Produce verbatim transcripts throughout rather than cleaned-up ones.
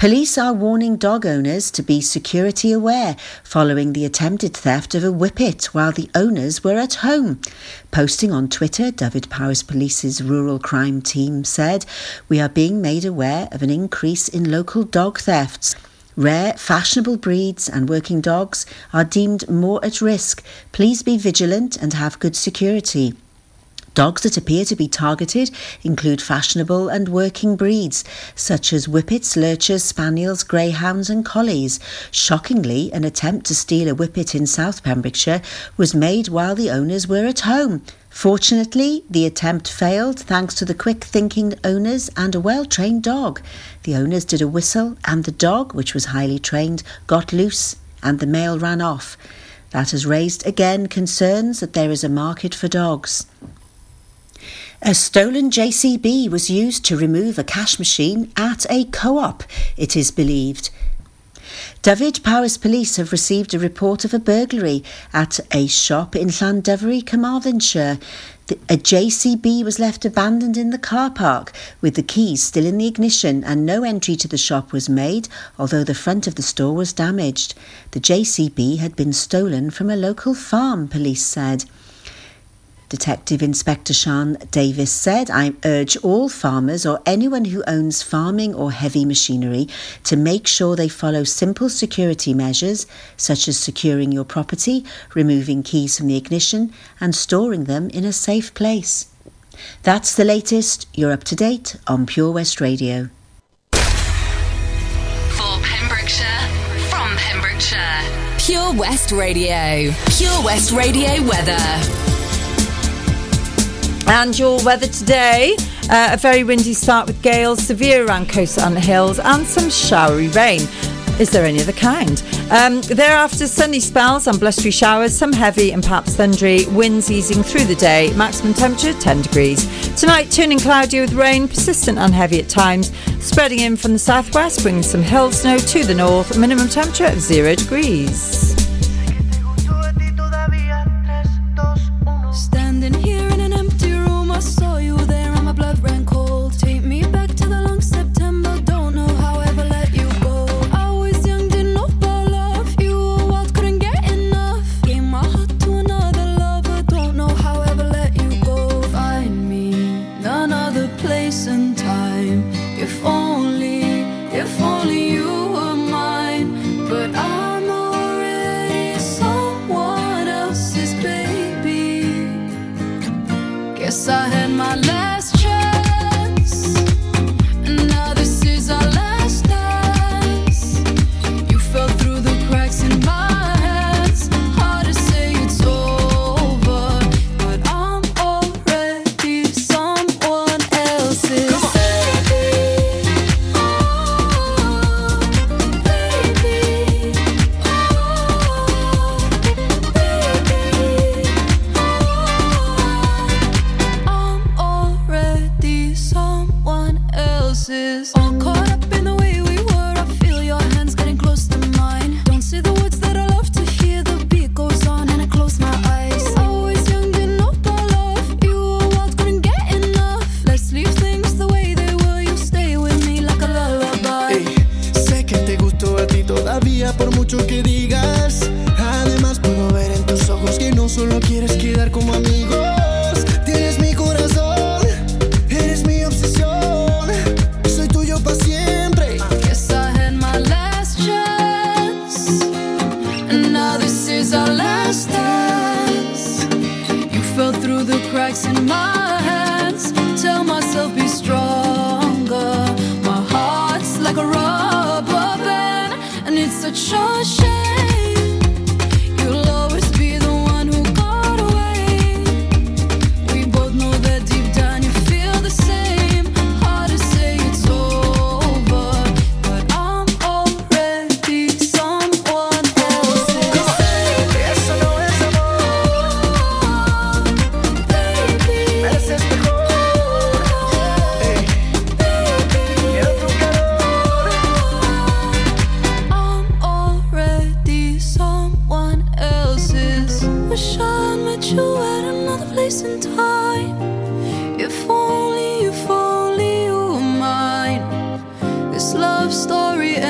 Police are warning dog owners to be security aware following the attempted theft of a whippet while the owners were at home. Posting on Twitter, Dyfed-Powys Police's rural crime team said, "We are being made aware of an increase in local dog thefts. Rare, fashionable breeds and working dogs are deemed more at risk. Please be vigilant and have good security." Dogs that appear to be targeted include fashionable and working breeds, such as whippets, lurchers, spaniels, greyhounds and collies. Shockingly, an attempt to steal a whippet in South Pembrokeshire was made while the owners were at home. Fortunately, the attempt failed thanks to the quick-thinking owners and a well-trained dog. The owners did a whistle and the dog, which was highly trained, got loose and the male ran off. That has raised again concerns that there is a market for dogs. A stolen J C B was used to remove a cash machine at a co-op, it is believed. Dyfed-Powys Police have received a report of a burglary at a shop in Llandovery, Carmarthenshire. The, a J C B was left abandoned in the car park with the keys still in the ignition and no entry to the shop was made, although the front of the store was damaged. The J C B had been stolen from a local farm, police said. Detective Inspector Sean Davis said, "I urge all farmers or anyone who owns farming or heavy machinery to make sure they follow simple security measures such as securing your property, removing keys from the ignition and storing them in a safe place." That's the latest. You're up to date on Pure West Radio. For Pembrokeshire, from Pembrokeshire. Pure West Radio. Pure West Radio weather. And your weather today, uh, a very windy start with gales, severe around coast and the hills, and some showery rain. Is there any other kind? Um, thereafter, sunny spells and blustery showers, some heavy and perhaps thundery, winds easing through the day, maximum temperature ten degrees. Tonight, turning cloudy with rain, persistent and heavy at times, spreading in from the southwest, bringing some hill snow to the north, minimum temperature of zero degrees. Standing here in an empty room, I saw you there and my blood ran cold. Take me back to the long September, don't know how I ever let you go. I was young, didn't know about love, you were wild, couldn't get enough. Gave my heart to another lover, don't know how I ever let you go. Find me another place and time, if only, if only you were mine. But I'm already someone else's baby. Guess I had my last chance, and now this is our last dance. You fell through the cracks in my hands. Hard to say it's over, but I'm already someone else's baby. Oh, baby. Oh, baby. I'm already someone else's. All caught up in the way we were. I feel your hands getting close to mine. Don't say the words that I love to hear. The beat goes on and I close my eyes. Always young, didn't know about love. You were wild, couldn't get enough. Let's leave things the way they were. You stay with me like a lullaby. Ey, sé que te gustó a ti todavía por mucho que digas. Además puedo ver en tus ojos que no solo quieres quedar como amigos. Tienes mi corazón, eres mi obsesión. Soy tuyo para siempre. Guess I had my last chance, and now this is our last dance. You fell through the cracks in my hands. Tell myself be stronger. My heart's like a rubber band, and it's such a shame. You'll always be the one who got away. We both know that deep down you feel the same. Hard to say it's over, but I'm already someone else's baby. Eso no es amor, Baby, mereces mejor. Ey, quiero tu calor. I'm already someone else's. Wish I met you at another place and time. If only, if only you were mine. This love story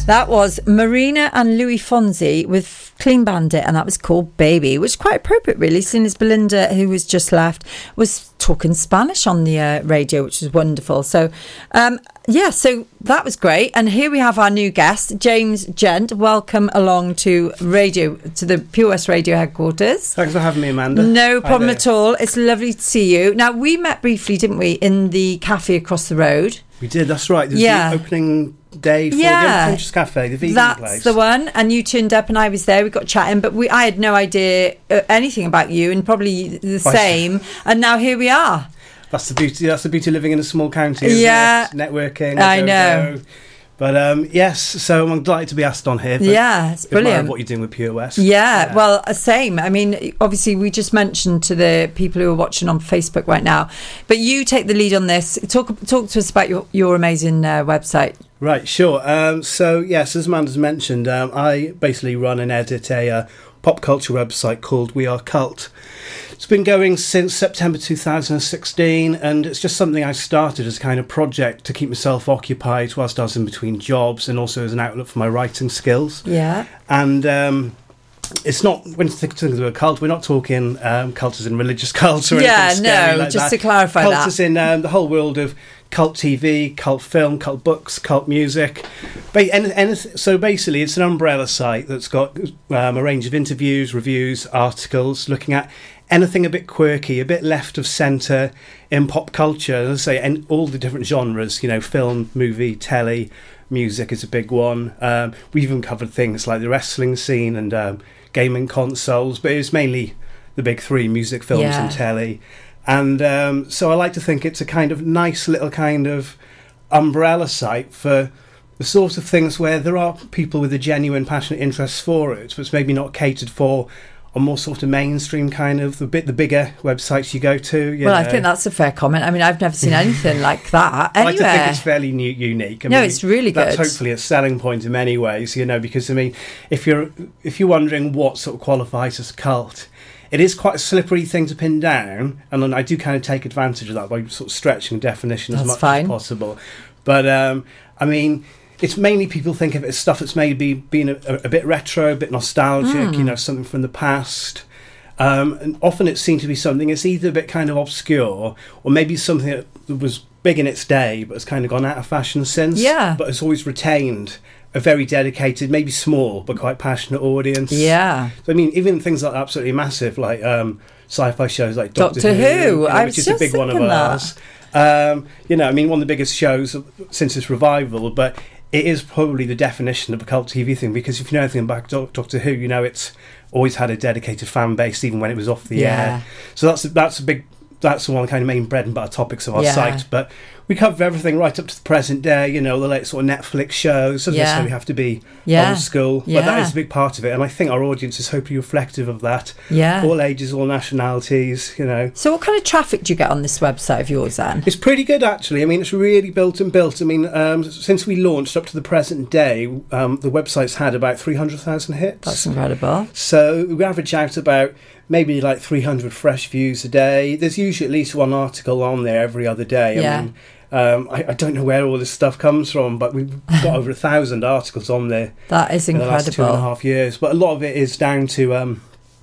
That was Marina and Louis Fonzi with Clean Bandit, and that was called Baby, which is quite appropriate, really, seeing as Belinda, who was just left, was talking Spanish on the uh, radio, which was wonderful. So, um, yeah, so that was great. And here we have our new guest, James Gent. Welcome along to radio, to the Pure West Radio headquarters. Thanks for having me, Amanda. No problem at all. It's lovely to see you. Now, we met briefly, didn't we, in the cafe across the road? We did, that's right. There's Yeah. the opening day for Yeah. the Pinterest Cafe, the vegan That's place. the one. And you turned up and I was there. We got chatting, but we I had no idea uh, anything about you, and probably the Right. same. And now here we are. That's the beauty. That's the beauty of living in a small county. Isn't Yeah. it? Networking. I go, know. go. But um, yes, so I'm delighted to be asked on here. Yeah, it's admire brilliant. What you're doing with Pure West. Yeah, well, uh, same. I mean, obviously, we just mentioned to the people who are watching on Facebook right now, but you take the lead on this. Talk talk to us about your, your amazing uh, website. Right, sure. Um, so, yes, as Amanda's mentioned, um, I basically run and edit a uh, pop culture website called We Are Cult. It's been going since September two thousand sixteen, and it's just something I started as a kind of project to keep myself occupied whilst I was in between jobs, and also as an outlet for my writing skills. Yeah. And um, it's not, when you think of a cult, we're not talking um, cult as in religious cult or Yeah, anything scary no, like just that. to clarify cult that. as in um, the whole world of cult T V, cult film, cult books, cult music. Ba- and, and so basically it's an umbrella site that's got um, a range of interviews, reviews, articles, looking at anything a bit quirky, a bit left of centre in pop culture, as I say, and all the different genres, you know, film, movie, telly, music is a big one. Um, we even covered things like the wrestling scene and um, gaming consoles, but it's mainly the big three, music, films Yeah. and telly. And um, so I like to think it's a kind of nice little kind of umbrella site for the sort of things where there are people with a genuine passionate interest for it, but it's maybe not catered for on more sort of mainstream kind of the bit the bigger websites you go to. You Well, I know. think that's a fair comment. I mean, I've never seen anything like that I like to think anywhere. it's fairly new, unique. I No, mean, it's really That's good. hopefully a selling point in many ways, you know, because I mean, if you're if you're wondering what sort of qualifies as a cult, it is quite a slippery thing to pin down, and then I do kind of take advantage of that by sort of stretching definition as That's much fine. as possible. But um, I mean, it's mainly people think of it as stuff that's maybe been a, a bit retro, a bit nostalgic, Hmm. you know, something from the past. Um, and often it seems to be something it's either a bit kind of obscure, or maybe something that was big in its day but has kind of gone out of fashion since. Yeah. But has always retained a very dedicated, maybe small but quite passionate audience. Yeah. So, I mean, even things like absolutely massive, like um, sci-fi shows like Doctor, Doctor Who, Who, you know, I which was is a just big one of thinking that. ours. Um, you know, I mean, one of the biggest shows since its revival, but it is probably the definition of a cult T V thing, because if you know anything about Doc- Doctor Who, you know it's always had a dedicated fan base, even when it was off the Yeah. air. So that's that's a big, that's one of the kind of main bread and butter topics of our Yeah. site. But we cover everything right up to the present day, you know, the late sort of Netflix shows. Doesn't Yeah. necessarily have to be Yeah. old school, Yeah. but that is a big part of it. And I think our audience is hopefully reflective of that. Yeah. All ages, all nationalities, you know. So what kind of traffic do you get on this website of yours then? It's pretty good, actually. I mean, it's really built and built. I mean, um, since we launched up to the present day, um, the website's had about three hundred thousand hits. That's incredible. So we average out about maybe like three hundred fresh views a day. There's usually at least one article on there every other day. Yeah. I mean, um, I, I don't know where all this stuff comes from, but we've got over a thousand articles on there That is in the last two and a incredible. half years. But a lot of it is down to um,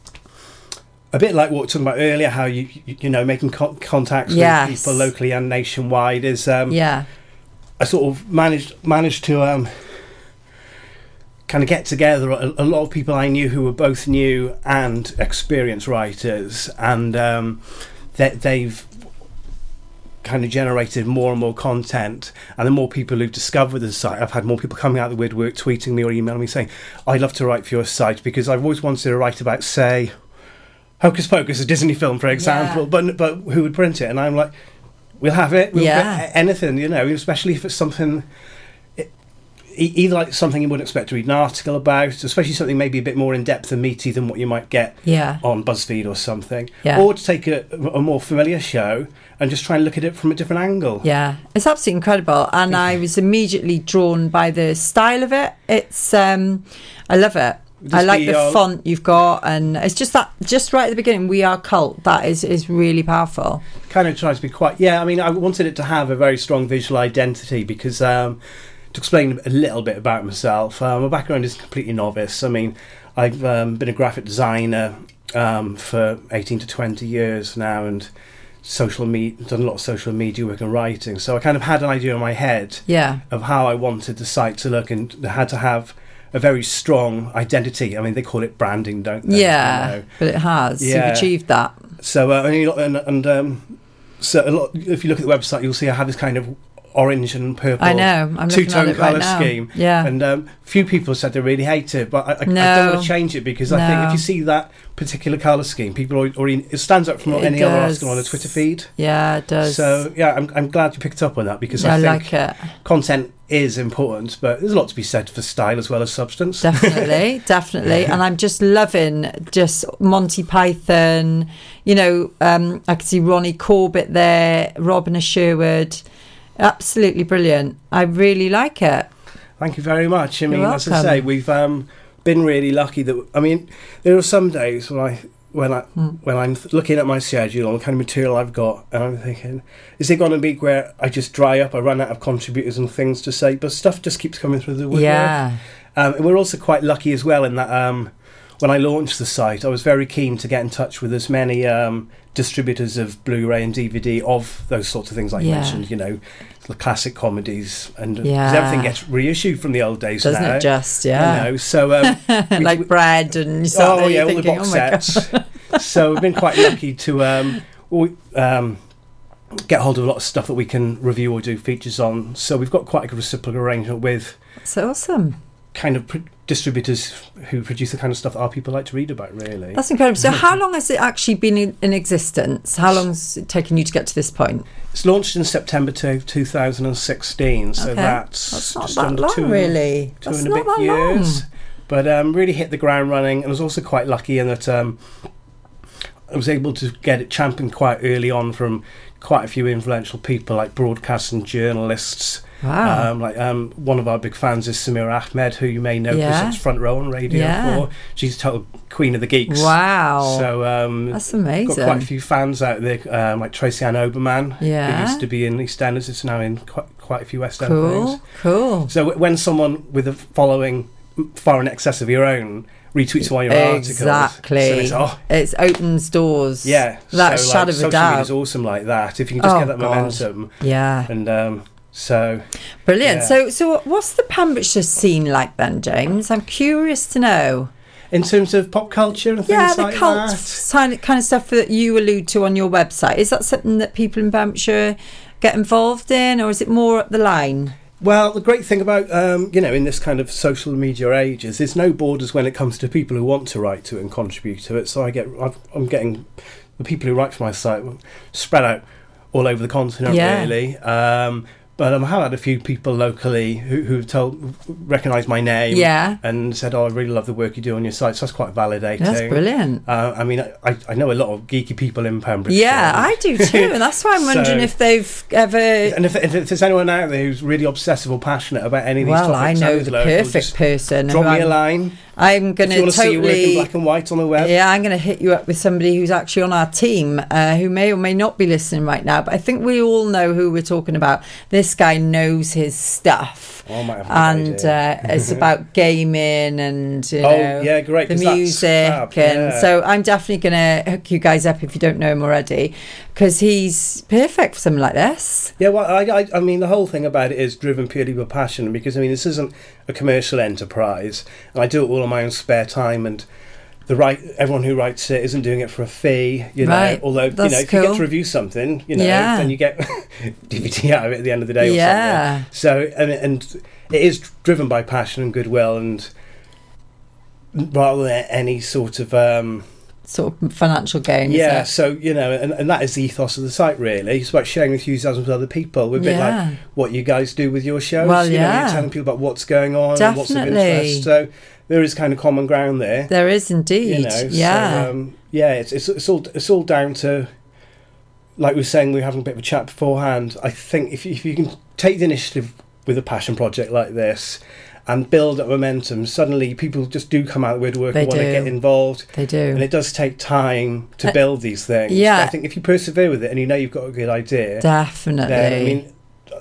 a bit like what we were talking about earlier, how you you, you know making co- contacts Yes. with people locally and nationwide. Is um, Yeah. I sort of managed managed to um, kind of get together a, a lot of people I knew who were both new and experienced writers, and um, that they've kind of generated more and more content, and the more people who've discovered the site, I've had more people coming out of the woodwork, tweeting me or emailing me saying, I'd love to write for your site, because I've always wanted to write about, say, Hocus Pocus, a Disney film, for example, Yeah. but but who would print it? And I'm like, we'll have it, we'll Yeah. get anything, you know, especially if it's something, it, e- either like something you wouldn't expect to read an article about, especially something maybe a bit more in-depth and meaty than what you might get Yeah. on BuzzFeed or something, Yeah. or to take a, a more familiar show and just try and look at it from a different angle. Yeah, it's absolutely incredible, and I was immediately drawn by the style of it. It's, um, I love it. Just I like the, the uh, font you've got, and it's just that, just right at the beginning, We Are Cult. That is is really powerful. Kind of tries to be quite, yeah, I mean, I wanted it to have a very strong visual identity, because um, to explain a little bit about myself, uh, my background is completely novice. I mean, I've um, been a graphic designer um, for eighteen to twenty years now, and social media, done a lot of social media work and writing. So I kind of had an idea in my head Yeah. of how I wanted the site to look, and had to have a very strong identity. I mean, they call it branding, don't they? Yeah, You know? but it has. Yeah. You've achieved that. So uh, and, and, and um, so a lot. If you look at the website, you'll see I have this kind of orange and purple I know. I'm looking at two-tone it right colour now. scheme. Yeah. And um, few people said they really hate it, but I, I, No. I don't want to change it, because I think No. if you see that particular colour scheme, people already, already it stands out from It any other does. article on the Twitter feed. Yeah, it does. So yeah, I'm I'm glad you picked up on that, because I I think like it. content is important, but there's a lot to be said for style as well as substance. Definitely, definitely. And I'm just loving just Monty Python. You know, um, I can see Ronnie Corbett there, Robin Sherwood. Absolutely brilliant. I really like it. Thank you very much. I mean, You're as I welcome. say, we've um, been really lucky that. I mean, there are some days when I when I Mm. when I'm th- looking at my schedule and the kind of material I've got, and I'm thinking, is it going to be where I just dry up, I run out of contributors and things to say, but stuff just keeps coming through the woodwork. Yeah. Um, and we're also quite lucky as well in that um, when I launched the site, I was very keen to get in touch with as many um, distributors of Blu-ray and D V D of those sorts of things like you Yeah. mentioned, you know, the classic comedies, and 'cause Yeah. everything gets reissued from the old days Doesn't now. it just, yeah. You know, so um, we- like we- bread and you start oh there, yeah, you're all the thinking, box oh my God. sets. So we've been quite lucky to um, we, um, get hold of a lot of stuff that we can review or do features on. So we've got quite a good reciprocal arrangement with That's awesome. kind of pr- distributors who produce the kind of stuff that our people like to read about, really. That's incredible. So how long has it actually been in, in existence? How long's it taken you to get to this point? It's launched in September to two thousand sixteen, so Okay. that's, That's not just that under long, two, really. two That's and a not bit that years. long. But um, really hit the ground running, and I was also quite lucky in that um, I was able to get it championed quite early on from quite a few influential people, like broadcast and journalists. Wow. Um, like um, one of our big fans is Samira Ahmed, who you may know because Yeah. it's Front Row on Radio Yeah. four. She's total queen of the geeks. Wow. So um, That's amazing. got quite a few fans out there, um, like Tracy Ann Oberman, Yeah. who used to be in EastEnders. It's now in quite, quite a few West End Cool, things. cool. So w- when someone with a following far in excess of your own retweets one of your Exactly. articles, so it's, oh, It opens doors. yeah. That so, shadow like, of a social doubt. media is awesome like that. If you can just Oh, get that God. momentum. Yeah. And um, so... Brilliant. Yeah. So, so what's the Pembrokeshire scene like then, James? I'm curious to know. In terms of pop culture and things Yeah, the like cult that... sign- kind of stuff that you allude to on your website. Is that something that people in Pembrokeshire get involved in, or is it more up the line? Well, the great thing about, um, you know, in this kind of social media age is there's no borders when it comes to people who want to write to it and contribute to it. So I get, I've, I'm getting the people who write for my site spread out all over the continent, Yeah. really. Um, but um, I have had a few people locally who, who've told, recognised my name, Yeah. and said, "Oh, I really love the work you do on your site." So that's quite validating. That's brilliant. Uh, I mean, I, I know a lot of geeky people in Pembrokeshire. Yeah, I do too, and that's why I'm wondering So- if they've ever. And if, if there's anyone out there who's really obsessive or passionate about any of these Well, I topics, know and is the local, perfect just person. drop who me a I'm- line. I'm going If you to want to see your work in totally. black and white on the web. Yeah, I'm going to hit you up with somebody who's actually on our team, uh, who may or may not be listening right now. But I think we all know who we're talking about. This guy knows his stuff, Oh, I might have a good and idea. uh, it's about gaming and you Oh, know, yeah, great, the 'cause that's music. fab, And yeah. so I'm definitely going to hook you guys up if you don't know him already, because he's perfect for something like this. Yeah, well, I, I, I mean, the whole thing about it is driven purely by passion, because I mean, this isn't a commercial enterprise, and I do it all in my own spare time, and the right everyone who writes it isn't doing it for a fee, you know. Right, Although that's you know, if you cool. get to review something, you know, Yeah. then you get D V D out of it at the end of the day, or Yeah. something. So, and, and it is driven by passion and goodwill, and rather than any sort of um, Sort of financial gain. yeah, is it? so you know, and, and that is the ethos of the site. Really, it's about sharing enthusiasm with other people. We're a bit Yeah. like what you guys do with your shows. Well, you know, yeah. you're telling people about what's going on and what's of Definitely. interest. So there is kind of common ground there. There is indeed. You know, yeah. So, um, yeah, it's, it's it's all it's all down to, like we were saying, we were having a bit of a chat beforehand. I think if you, if you can take the initiative with a passion project like this and build up momentum, suddenly people just do come out of the woodwork They and want to do. get involved. They do. And it does take time to Uh, build these things. yeah. But I think if you persevere with it and you know you've got a good idea, Definitely. then I mean,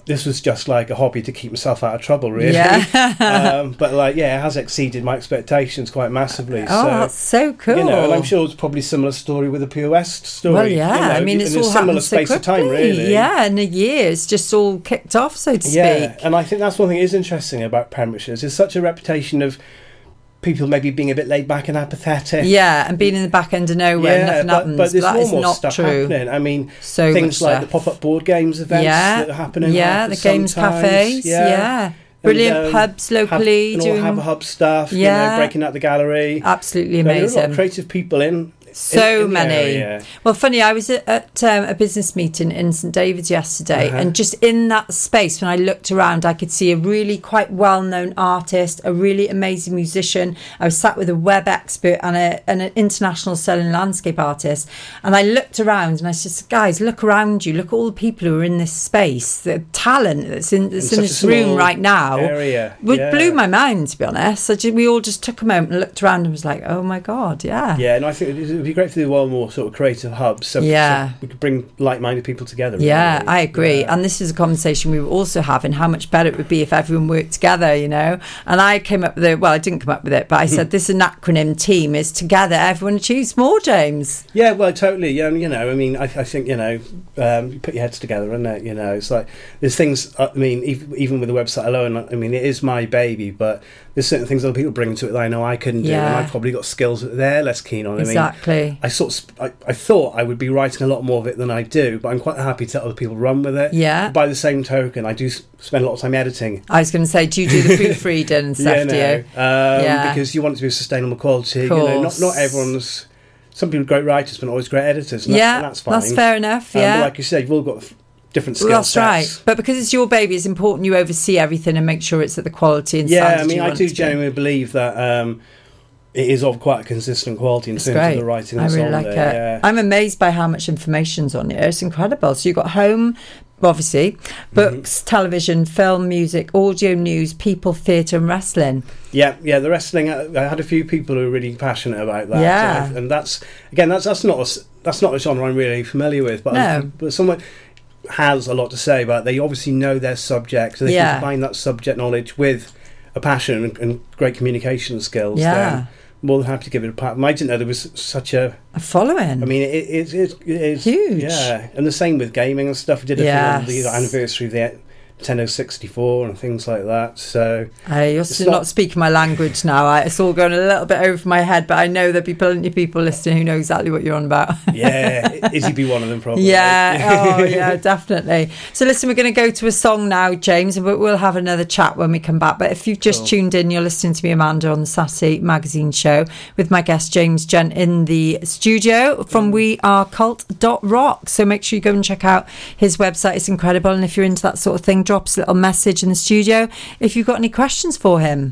this was just like a hobby to keep myself out of trouble, really. Yeah. um, but like, yeah, it has exceeded my expectations quite massively. Oh, so, that's so cool. You know, and I'm sure it's probably a similar story with the Pure West story. Well, yeah. you know, I mean, it's in all a similar happened so space of time, quickly. really. Yeah, in a year, it's just all kicked off, so to Yeah, speak. and I think that's one thing that is interesting about Pembrokeshire. There's such a reputation of people maybe being a bit laid back and apathetic. Yeah, and being in the back end of nowhere, Yeah, nothing but, happens. but there's that more is more not stuff true. happening. I mean, So things much like stuff. the pop-up board games events Yeah, that are happening. yeah, the games sometimes. cafes, yeah. Brilliant And, um, pubs locally have, and doing- all have a hub stuff. Yeah. You know, breaking out the gallery. Absolutely So there are a lot amazing. of creative people in. So in, in the many. area. Well, funny, I was at, at um, a business meeting in St David's yesterday, Uh-huh. and just in that space, when I looked around, I could see a really quite well-known artist, a really amazing musician. I was sat with a web expert and, a, and an international selling landscape artist, and I looked around and I said, guys, look around you, look at all the people who are in this space, the talent that's in, that's in such a this room small right now. area, It yeah. blew my mind, to be honest. I just, we all just took a moment and looked around and was like, oh my God, yeah. Yeah, and I think it would be great for the one more sort of creative hubs. So, Yeah. so we could bring like-minded people together. Yeah, really. I agree. Yeah. And this is a conversation we were also having, how much better it would be if everyone worked together, you know. And I came up with it, well, I didn't come up with it, but I said this is an acronym team is together, everyone achieves more, James. Yeah, well, totally. Yeah, you know, I mean, I, I think, you know, um, you put your heads together, and it, you know, it's like there's things. I mean, even, even with the website alone, I mean, it is my baby, but there's certain things other people bring to it that I know I couldn't do, Yeah. and I've probably got skills that they're less keen on. Exactly. I mean, I sort of, sp- I, I thought I would be writing a lot more of it than I do, but I'm quite happy to let other people run with it. Yeah. By the same token, I do s- spend a lot of time editing. I was going to say, do you do the proofreading and stuff, yeah, do no, you? um, Yeah. because you want it to be of sustainable quality. You know, not Course. not everyone's. Some people are great writers, but not always great editors. And Yeah, that's, and that's fine. that's fair enough, Um, yeah. but like you said, you've all got f- different skill Well, that's sets. right. But because it's your baby, it's important you oversee everything and make sure it's at the quality and Yeah, standard I mean, you I want do it to be. genuinely believe that um, it is of quite a consistent quality in It's terms great. of the writing I that's really on like there. it. Yeah. I'm amazed by how much information's on here. It's incredible. So you've got home, obviously, books, Mm-hmm. television, film, music, audio, news, people, theatre and wrestling. Yeah, yeah, the wrestling. I, I had a few people who were really passionate about that. Yeah. and, I- and that's again, that's that's not a, s- that's not a genre I'm really familiar with. But No. I, but someone has a lot to say about it. They obviously know their subject, so they Yeah. can combine that subject knowledge with a passion and, and great communication skills. Yeah. Then more than happy to give it a pat. I didn't know there was such a. A following. I mean, it, it, it, it is Huge. Yeah, and the same with gaming and stuff. I did a thing on the Yes. anniversary of the Nintendo sixty-four and things like that. So I, you're it's still not, not- speaking my language now. I, it's all going a little bit over my head, but I know there'll be plenty of people listening who know exactly what you're on about. yeah, Izzy be one of them probably. Yeah, oh yeah, definitely. So listen, we're going to go to a song now, James, and we- we'll have another chat when we come back. But if you've just Cool. tuned in, you're listening to me, Amanda, on the Saturday Magazine show with my guest James Gent in the studio from we are cult dot rock. So make sure you go and check out his website. It's incredible. And if you're into that sort of thing, drop us a little message in the studio if you've got any questions for him.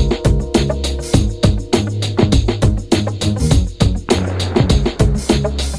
Oh,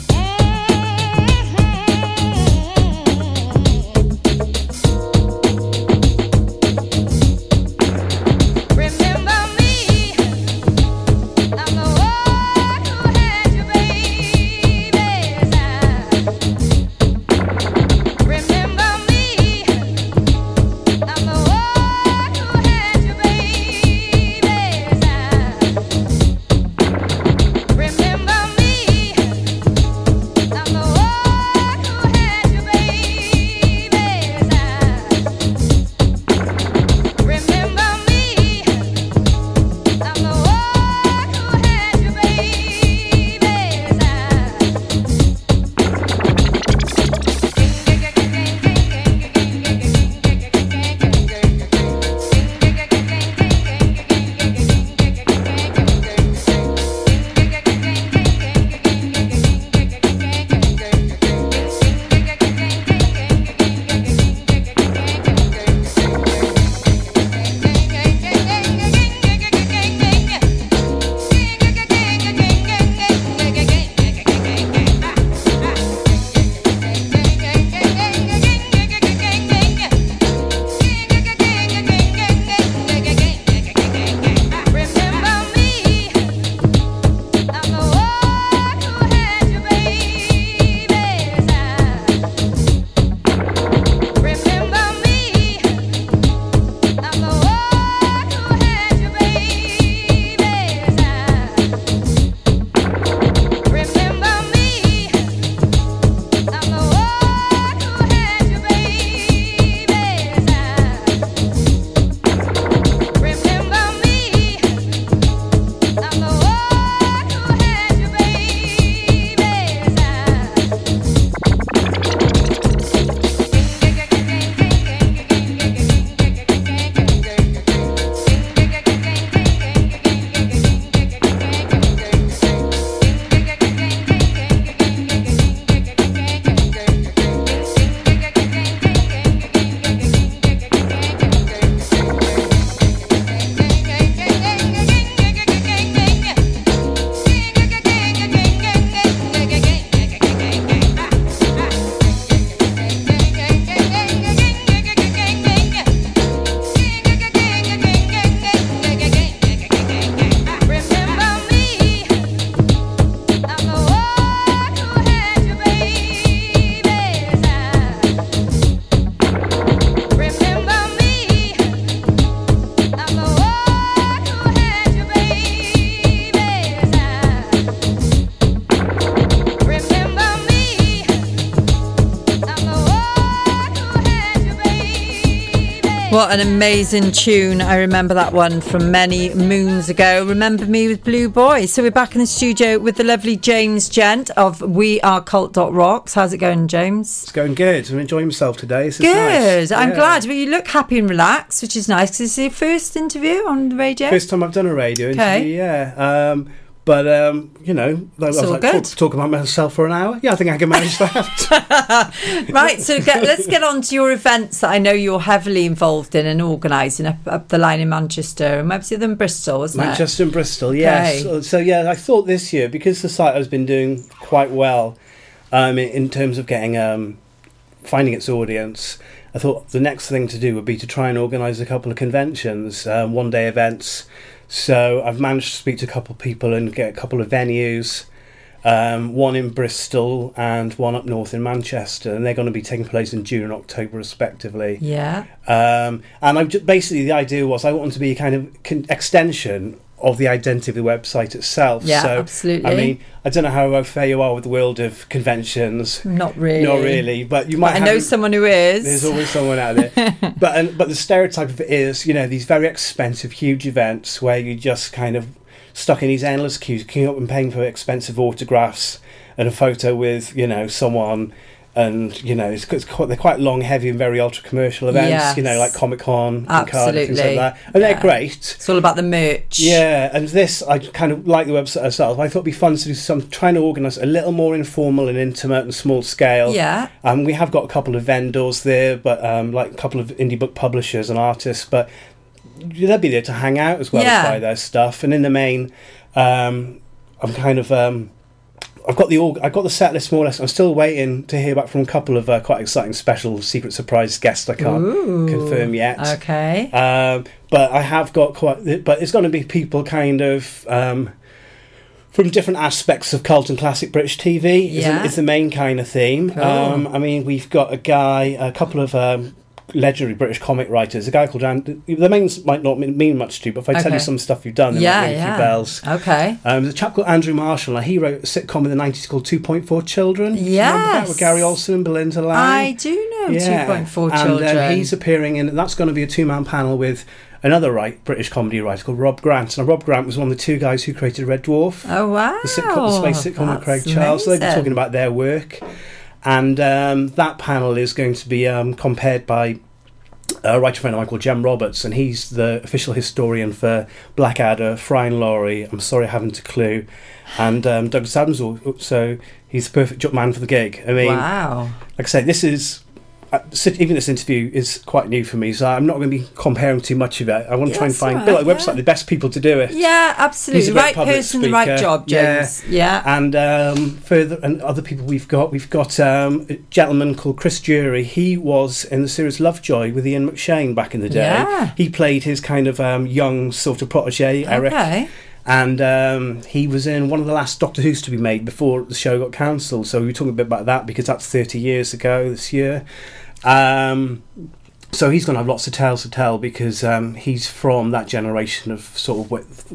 What an amazing tune. I remember that one from many moons ago. Remember Me with Blue Boy. So we're back in the studio with the lovely James Gent of We Are Cult dot Rocks. How's it going, James? It's going good. I'm enjoying myself today. This is good. Nice. I'm yeah. glad. Well, you look happy and relaxed, which is nice. Because it's your first interview on the radio? First time I've done a radio okay. interview, yeah. Um, But, um, you know, I was like, talk, talk about myself for an hour. Yeah, I think I can manage that. Right, so get, let's get on to your events that I know you're heavily involved in and organising up, up the line in Manchester and maybe in Bristol, wasn't Manchester it? Manchester and Bristol, yes. Okay. So, so, yeah, I thought this year, because the site has been doing quite well um, in, in terms of getting um, finding its audience, I thought the next thing to do would be to try and organise a couple of conventions, um, one-day events. So I've managed to speak to a couple of people and get a couple of venues, um, one in Bristol and one up north in Manchester, and they're going to be taking place in June and October respectively. Yeah. Um, and I just, basically the idea was I want to be a kind of con- extension of the identity of the website itself. Yeah, so, absolutely. I mean, I don't know how fair you are with the world of conventions. Not really. Not really, but you might. But have I know someone who is. There's always someone out there. but and, but the stereotype of it is, you know, these very expensive, huge events where you just kind of stuck in these endless queues, queuing up and paying for expensive autographs and a photo with, you know, someone. And, you know, it's, it's quite, they're quite long, heavy and very ultra-commercial events, yes. you know, like Comic-Con and Cardiff, things like that. And yeah. they're great. It's all about the merch. Yeah, and this, I kind of like the website itself. I thought it'd be fun to do some, trying to organise a little more informal and intimate and small scale. Yeah. Um, we have got a couple of vendors there, but um, like a couple of indie book publishers and artists, but they'll be there to hang out as well yeah. as buy their stuff. And in the main, um, I'm kind of... Um, I've got the org- I've got the set list more or less. I'm still waiting to hear back from a couple of uh, quite exciting special secret surprise guests. I can't Ooh, confirm yet. Okay. Um, but I have got quite. But it's going to be people kind of um, from different aspects of cult and classic British T V. Yeah. Is, is the main kind of theme. Cool. Um, I mean, we've got a guy, a couple of. Um, legendary British comic writers, a guy called Andy. The names might not mean much to you, but if I okay. tell you some stuff you've done, they yeah, might ring yeah. a few bells. Okay. Um, there's a chap called Andrew Marshall. Now, he wrote a sitcom in the nineties called two point four Children. Yes. Remember that with Gary Olsen and Belinda Lang? I do know yeah. two point four and, Children. And um, he's appearing in, that's going to be a two-man panel with another right, British comedy writer called Rob Grant. Now, Rob Grant was one of the two guys who created Red Dwarf. Oh, wow. The, sitcom, the space sitcom with Craig That's Charles. So they'll be amazing. talking about their work. And um, that panel is going to be um, compared by a writer friend of mine called Jem Roberts, and he's the official historian for Blackadder, Fry and Laurie, I'm Sorry I Haven't a Clue, and um, Douglas Adams. So he's the perfect man for the gig. I mean, wow. Like I say, this is uh, even this interview is quite new for me, so I'm not going to be comparing too much of it. I want to Yeah, try and that's find all a bit right, like the yeah. website, the best people to do it. Yeah, He's absolutely. a great Right public person, the right speaker. job, James. Yeah. Yeah. And um, further, and other people we've got, we've got um, a gentleman called Chris Jury. He was in the series Lovejoy with Ian McShane back in the day. Yeah. He played his kind of um, young sort of protege, Eric. Okay. And um, he was in one of the last Doctor Who's to be made before the show got cancelled. So we were talking a bit about that because that's thirty years ago this year. Um, so he's going to have lots of tales to tell because um, he's from that generation of sort of with,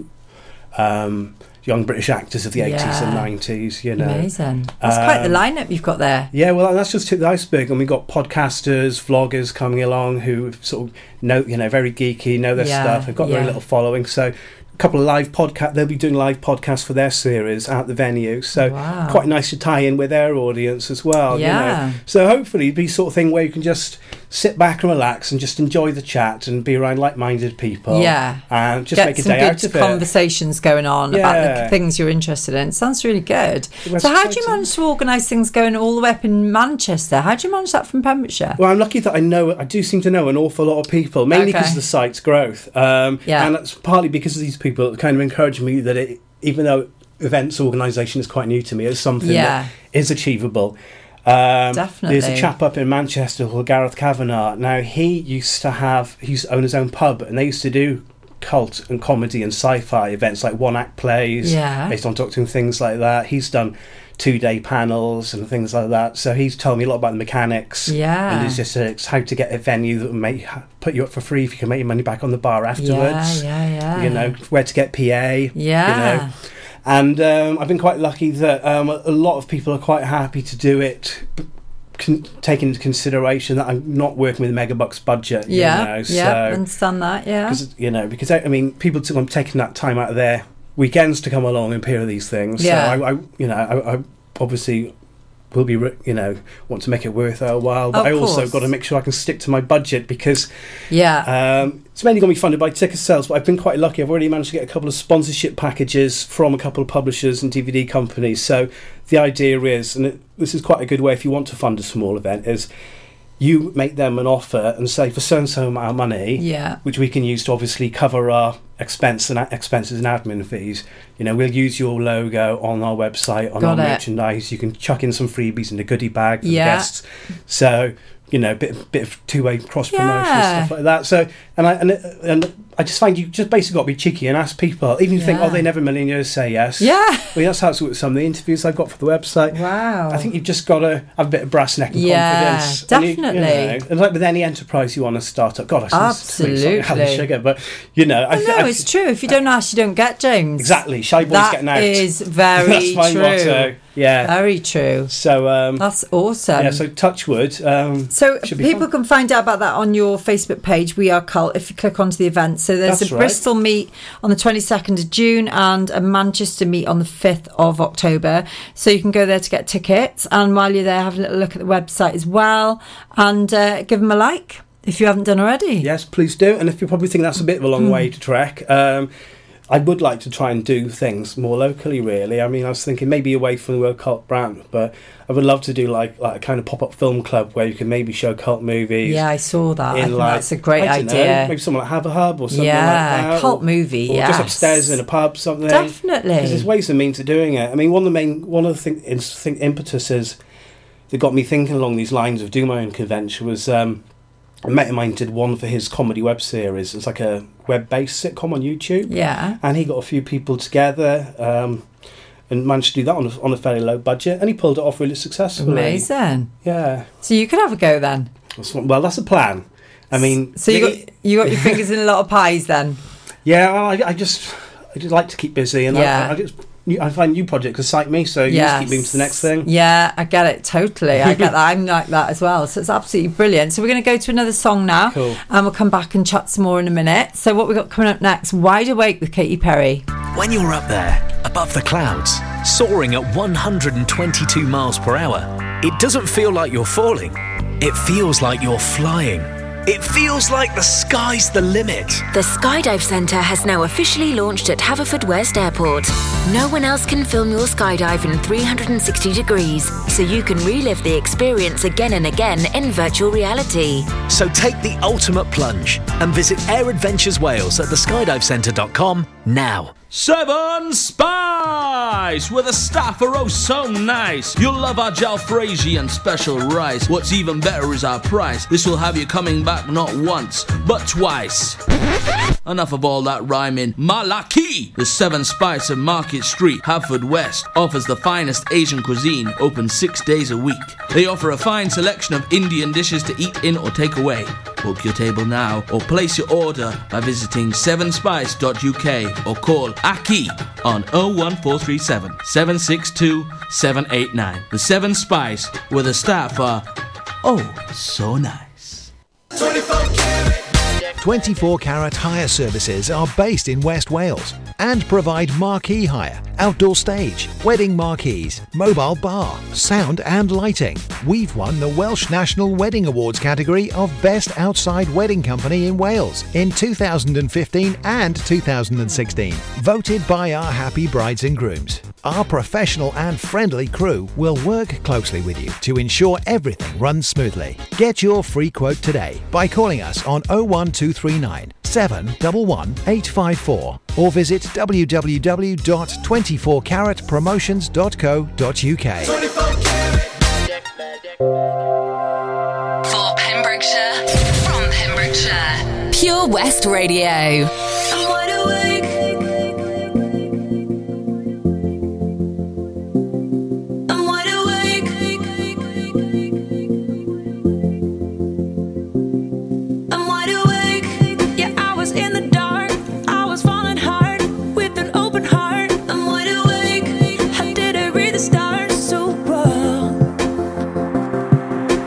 um, young British actors of the eighties Yeah. and nineties, you know. Amazing. That's quite the Um, lineup you've got there. Yeah, well, that's just tip the iceberg, and we've got podcasters, vloggers coming along who sort of know, you know, very geeky, know their Yeah, stuff. They've got yeah. very little following, so a couple of live podcast. They'll be doing live podcasts for their series at the venue, so Wow. quite nice to tie in with their audience as well. Yeah. You know? So hopefully, it'll be sort of thing where you can just sit back and relax and just enjoy the chat and be around like-minded people. Yeah. and just Get make a some day good out of it. conversations going on about Yeah. the things you're interested in. Sounds really good. It was So how do you exciting. manage to organise things going all the way up in Manchester? How do you manage that from Pembrokeshire? Well, I'm lucky that I know, I do seem to know an awful lot of people, mainly Okay. because of the site's growth. Um, Yeah. And that's partly because of these people that kind of encourage me that it, even though events organisation is quite new to me, it's something Yeah. that is achievable. Um, Definitely. There's a chap up in Manchester called Gareth Kavanagh. Now, he used to have, he used to own his own pub, and they used to do cult and comedy and sci-fi events like one-act plays Yeah. based on Doctor Who and things like that. He's done two-day panels and things like that. So he's told me a lot about the mechanics. Yeah. And it's just uh, it's how to get a venue that will make, put you up for free if you can make your money back on the bar afterwards. Yeah, yeah, yeah. You know, where to get P A. Yeah. You know. And um, I've been quite lucky that um, a lot of people are quite happy to do it con- taking into consideration that I'm not working with a megabucks budget. Yeah, you know, yeah, so, understand that, yeah. Cause, you know, because, I, I mean, people t- I'm taking that time out of their weekends to come along and peer these things. Yeah. So, I, I you know, I, I obviously will be, re- you know, want to make it worth our while, but Of I also course. got to make sure I can stick to my budget because Yeah. um, it's mainly going to be funded by ticket sales, but I've been quite lucky. I've already managed to get a couple of sponsorship packages from a couple of publishers and D V D companies. So the idea is, and it, this is quite a good way if you want to fund a small event, is you make them an offer and say for so and so amount of money, Yeah. which we can use to obviously cover our expense and expenses and admin fees. You know, we'll use your logo on our website, on Got our it. merchandise. You can chuck in some freebies in the goodie bag for Yeah. the guests. So, you know, bit bit of two way cross promotion Yeah. stuff like that. So, and I and and I just find you just basically got to be cheeky and ask people, even if you think, Yeah. oh, they never in a million years say yes. Yeah. I mean, that's how it's with some of the interviews I've got for the website. Wow. I think you've just got to have a bit of brass neck and Yeah, confidence. And you- you definitely. know, and like with any enterprise you want to start up, God, I Absolutely. Absolutely. Sugar, but you know, I, No, th- I it's true. If you don't ask, you don't get, James. exactly. Shy boys That getting out. is very That's my true. motto. Yeah. Very true. So um, That's awesome. yeah. So Touchwood. Um, So should be people fun. can find out about that on your Facebook page, We Are Cult, if you click onto the event. So there's That's a right. Bristol meet on the twenty-second of June and a Manchester meet on the fifth of October. So you can go there to get tickets. And while you're there, have a little look at the website as well and uh, give them a like if you haven't done already. Yes, please do. And if you probably think that's a bit of a long Hmm. way to trek, um, I would like to try and do things more locally, really. I mean, I was thinking maybe away from the World Cult brand, but I would love to do like like a kind of pop-up film club where you can maybe show cult movies. Yeah, I saw that. I in think like, that's a great I don't know, idea. maybe something like Have a Hub or something Yeah, like that. cult or, movie, Or yes. just upstairs in a pub, something. Definitely. Because there's ways and means of doing it. I mean, one of the main, one of the thing, ins- thing, impetuses that got me thinking along these lines of doing my own convention was um, a mate of mine did one for his comedy web series. It's like a web-based sitcom on YouTube. Yeah. And he got a few people together um, and managed to do that on a, on a fairly low budget. And he pulled it off really successfully. Amazing. Yeah. So you could have a go then. That's what- Well, that's a plan. I mean... So you got you got your fingers in a lot of pies then. Yeah, well, I, I just I just like to keep busy, and Yeah. I, I just I find new projects excite me, so you just keep moving to the next thing. Yeah, I get it totally. I get that. I'm like that as well. So it's absolutely brilliant. So we're going to go to another song now, Cool. and we'll come back and chat some more in a minute. So what we got coming up next? Wide Awake with Katy Perry. When you're up there, above the clouds, soaring at one hundred twenty-two miles per hour, it doesn't feel like you're falling. It feels like you're flying. It feels like the sky's the limit. The Skydive Centre has now officially launched at Haverfordwest Airport. No one else can film your skydive in three hundred sixty degrees, so you can relive the experience again and again in virtual reality. So take the ultimate plunge and visit Air Adventures Wales at the skydive centre dot com now. Seven Spice, where the staff are oh so nice. You'll love our jalfrezi and special rice. What's even better is our price. This will have you coming back not once, but twice. Enough of all that rhyming. Malaki! The Seven Spice of Market Street, Haverfordwest, offers the finest Asian cuisine, open six days a week. They offer a fine selection of Indian dishes to eat in or take away. Book your table now or place your order by visiting seven spice dot U K or call Aki on oh one four three seven, seven six two, seven eight nine. The Seven Spice, where the staff are oh so nice. twenty-four carat hire services are based in West Wales and provide marquee hire, outdoor stage, wedding marquees, mobile bar, sound and lighting. We've won the Welsh National Wedding Awards category of Best Outside Wedding Company in Wales in two thousand fifteen and two thousand sixteen, voted by our happy brides and grooms. Our professional and friendly crew will work closely with you to ensure everything runs smoothly. Get your free quote today by calling us on oh one two three nine, seven one one, eight five four or visit w w w dot twenty-four carat promotions dot co dot u k. For Pembrokeshire, from Pembrokeshire, Pure West Radio. I'm wide awake. I'm wide awake. I'm wide awake. Yeah, I was in the dark. I was falling hard with an open heart. I'm wide awake. How did I read the stars so well?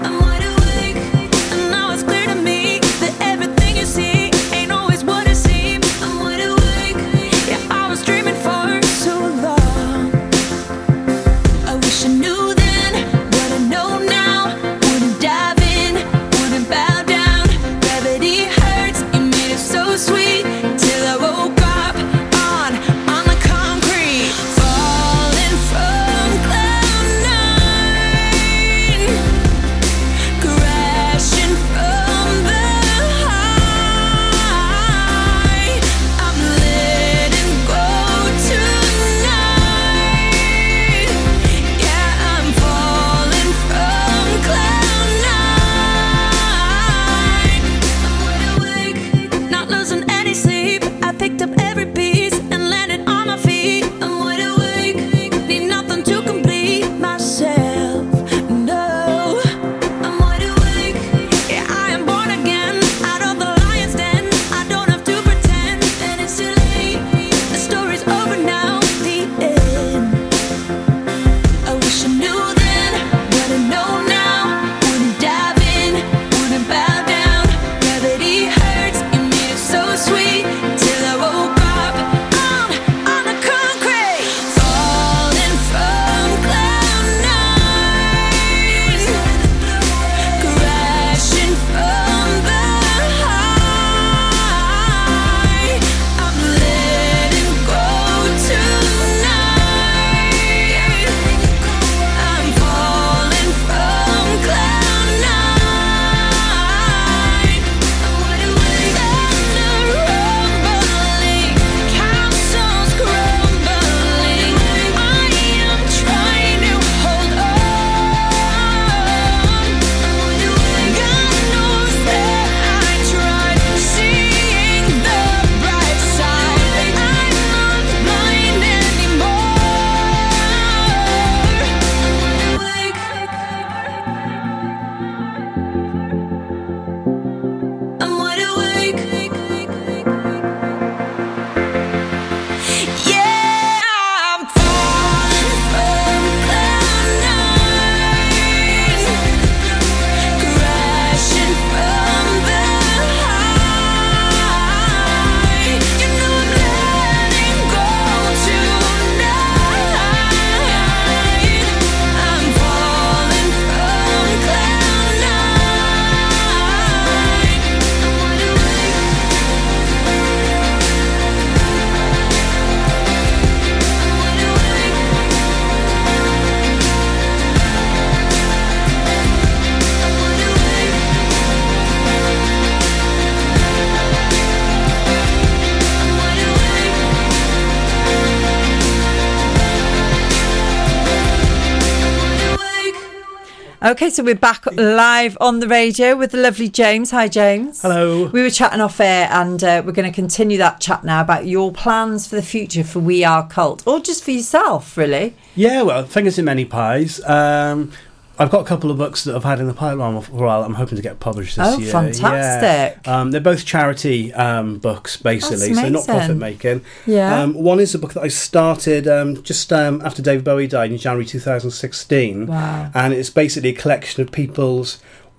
Okay, so we're back live on the radio with the lovely James. Hi, James. Hello. We were chatting off air, and uh, we're going to continue that chat now about your plans for the future for We Are Cult, or just for yourself, really. Yeah, well, fingers in many pies. Um, I've got a couple of books that I've had in the pipeline for a while. I'm hoping to get published this oh, year. Oh, fantastic. Yeah. Um, they're both charity um, books, basically, so not profit making. Yeah. Um, one is a book that I started um, just um, after David Bowie died in January two thousand sixteen. Wow. And it's basically a collection of people's...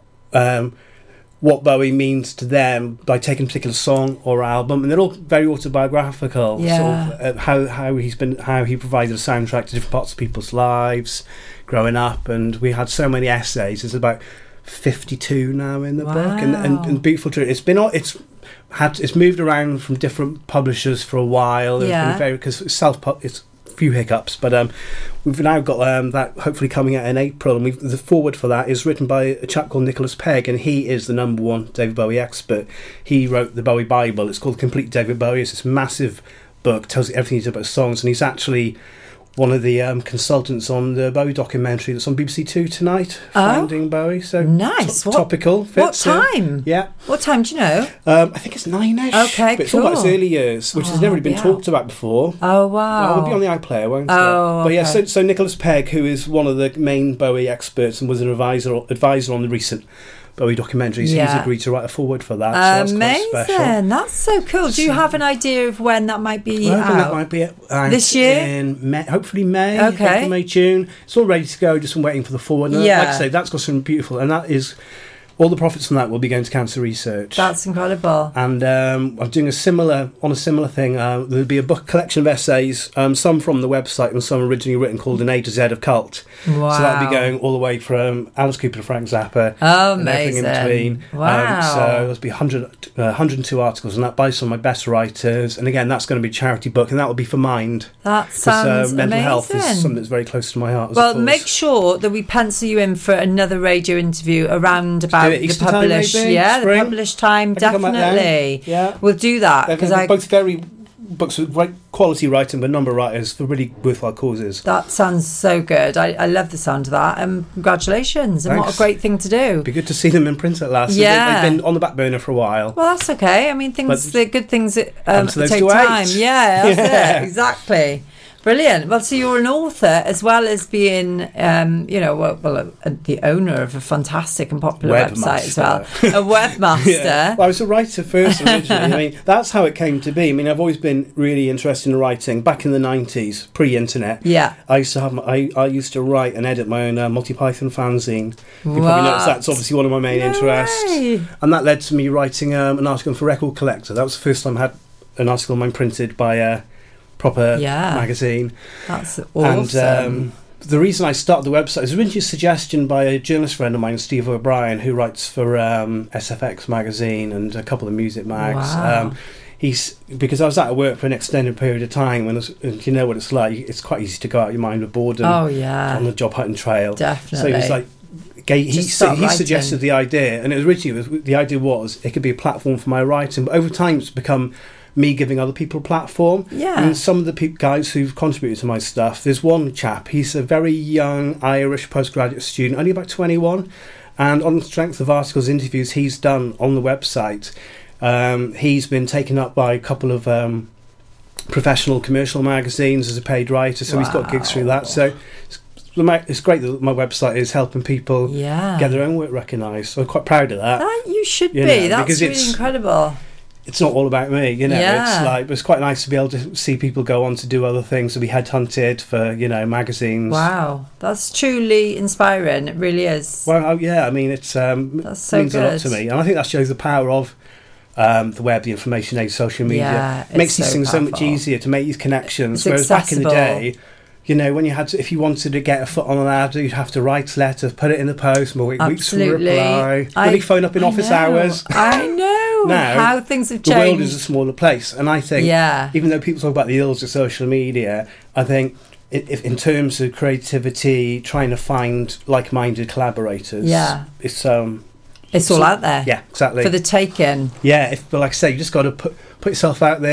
Um, what Bowie means to them by taking a particular song or album, and they're all very autobiographical. Yeah. Sort of, uh, how how he's been, how he provided a soundtrack to different parts of people's lives growing up, and we had so many essays. There's about fifty-two now in the wow. book, and, and, and beautiful truth. It's been it's had it's moved around from different publishers for a while. It's yeah. been very because it's self it's a few hiccups, but um, we've now got um, that hopefully coming out in April, and we've, the foreword for that is written by a chap called Nicholas Pegg, and he is the number one David Bowie expert. He wrote the Bowie Bible. It's called Complete David Bowie. It's this massive book, tells you everything he did about songs, and he's actually one of the um, consultants on the Bowie documentary that's on B B C Two tonight, oh. Finding Bowie. So nice. T- what, topical. Fits, what time? Uh, yeah. What time do you know? Um, I think it's nine-ish. Okay, but it's cool. all about his early years, which oh, has never been yeah. talked about before. Oh, wow. It'll be on the iPlayer, won't oh, it? But yeah, okay. so, so Nicholas Pegg, who is one of the main Bowie experts and was an advisor advisor on the recent Bowie documentaries, yeah. he's agreed to write a foreword for that. So amazing. That's quite special. That's so cool. Do you have an idea of when that might be well, I think out? that might be out this year? in May, hopefully May. Okay. April, May, June. It's all ready to go. Just waiting for the foreword. And yeah. like I say, that's got some beautiful, and that is all the profits from that will be going to cancer research. That's incredible. And um, I'm doing a similar on a similar thing. Uh, there'll be a book collection of essays, um, some from the website and some originally written, called An A to Z of Cult. Wow. So that'll be going all the way from Alice Cooper to Frank Zappa. Oh, and amazing. everything in between. Wow. Um, so there'll be one hundred, uh, one hundred two articles, and that by some of my best writers. And again, that's going to be a charity book, and that will be for Mind. That sounds uh, mental amazing. health is something that's very close to my heart. As well, a cause. make sure that we pencil you in for another radio interview around about the Easter time, published. maybe? Yeah, Spring? the published time, I can come back then. definitely. Yeah. We'll do that They're because I. both very books with great quality writing, but number of writers for really worthwhile causes. That sounds so good. I, I love the sound of that. And congratulations! And Thanks. what a great thing to do. It'd be good to see them in print at last. Yeah. They've been on the back burner for a while. Well, that's okay. I mean, things, But the good things that um, to those take to time. wait. Yeah, that's Yeah. it. Exactly. Brilliant. Well, so you're an author as well as being, um, you know, well, well uh, the owner of a fantastic and popular website as well. A webmaster. Yeah. Well, I was a writer first originally. I mean, that's how it came to be. I mean, I've always been really interested in writing. Back in the nineties, pre-internet, Yeah. I used to have. My, I, I used to write and edit my own uh, Multi Python fanzine. You What? probably noticed that's obviously one of my main No interests, way. and that led to me writing um, an article for Record Collector. That was the first time I had an article of mine printed by a proper Yeah. magazine. That's awesome. And um, the reason I started the website was originally a suggestion by a journalist friend of mine, Steve O'Brien, who writes for um, S F X magazine and a couple of music mags. Wow. Um, he's because I was out of work for an extended period of time, and, and you know what it's like. It's quite easy to go out of your mind with boredom Oh, yeah. on the job hunting trail. Definitely. So he was like. He, he, Just start he writing. suggested the idea, and it was originally was, the idea was it could be a platform for my writing, but over time it's become me giving other people a platform. Yeah. And some of the pe- guys who've contributed to my stuff, there's one chap, he's a very young Irish postgraduate student, only about twenty-one, and on the strength of articles, interviews he's done on the website, um, he's been taken up by a couple of um, professional commercial magazines as a paid writer, so he's got gigs through that. So it's, it's great that my website is helping people Yeah. get their own work recognised. So I'm quite proud of that. That you should You be. know, That's because really it's- incredible. It's not all about me, you know. Yeah. It's like, but it's quite nice to be able to see people go on to do other things, to be headhunted for, you know, magazines. Wow. That's truly inspiring. It really is. Well, oh, yeah, I mean, it's um, That's so means a lot good. to me, and I think that shows the power of um, the web, the information age, social media. Yeah, It makes it's these so things so much powerful. easier to make these connections. It's Whereas back in the accessible. day, you know, when you had to, if you wanted to get a foot on an ad, you'd have to write a letter, put it in the post, more weeks for a Absolutely. reply. I- Really phone up in I office know. hours. I know Now, how things have the changed. world is a smaller place, and I think, Yeah. even though people talk about the ills of social media, I think i- if in terms of creativity, trying to find like-minded collaborators, Yeah. it's um, It's all out there. yeah, exactly. For the taking. yeah, if but like I say, you just got to put put yourself out there,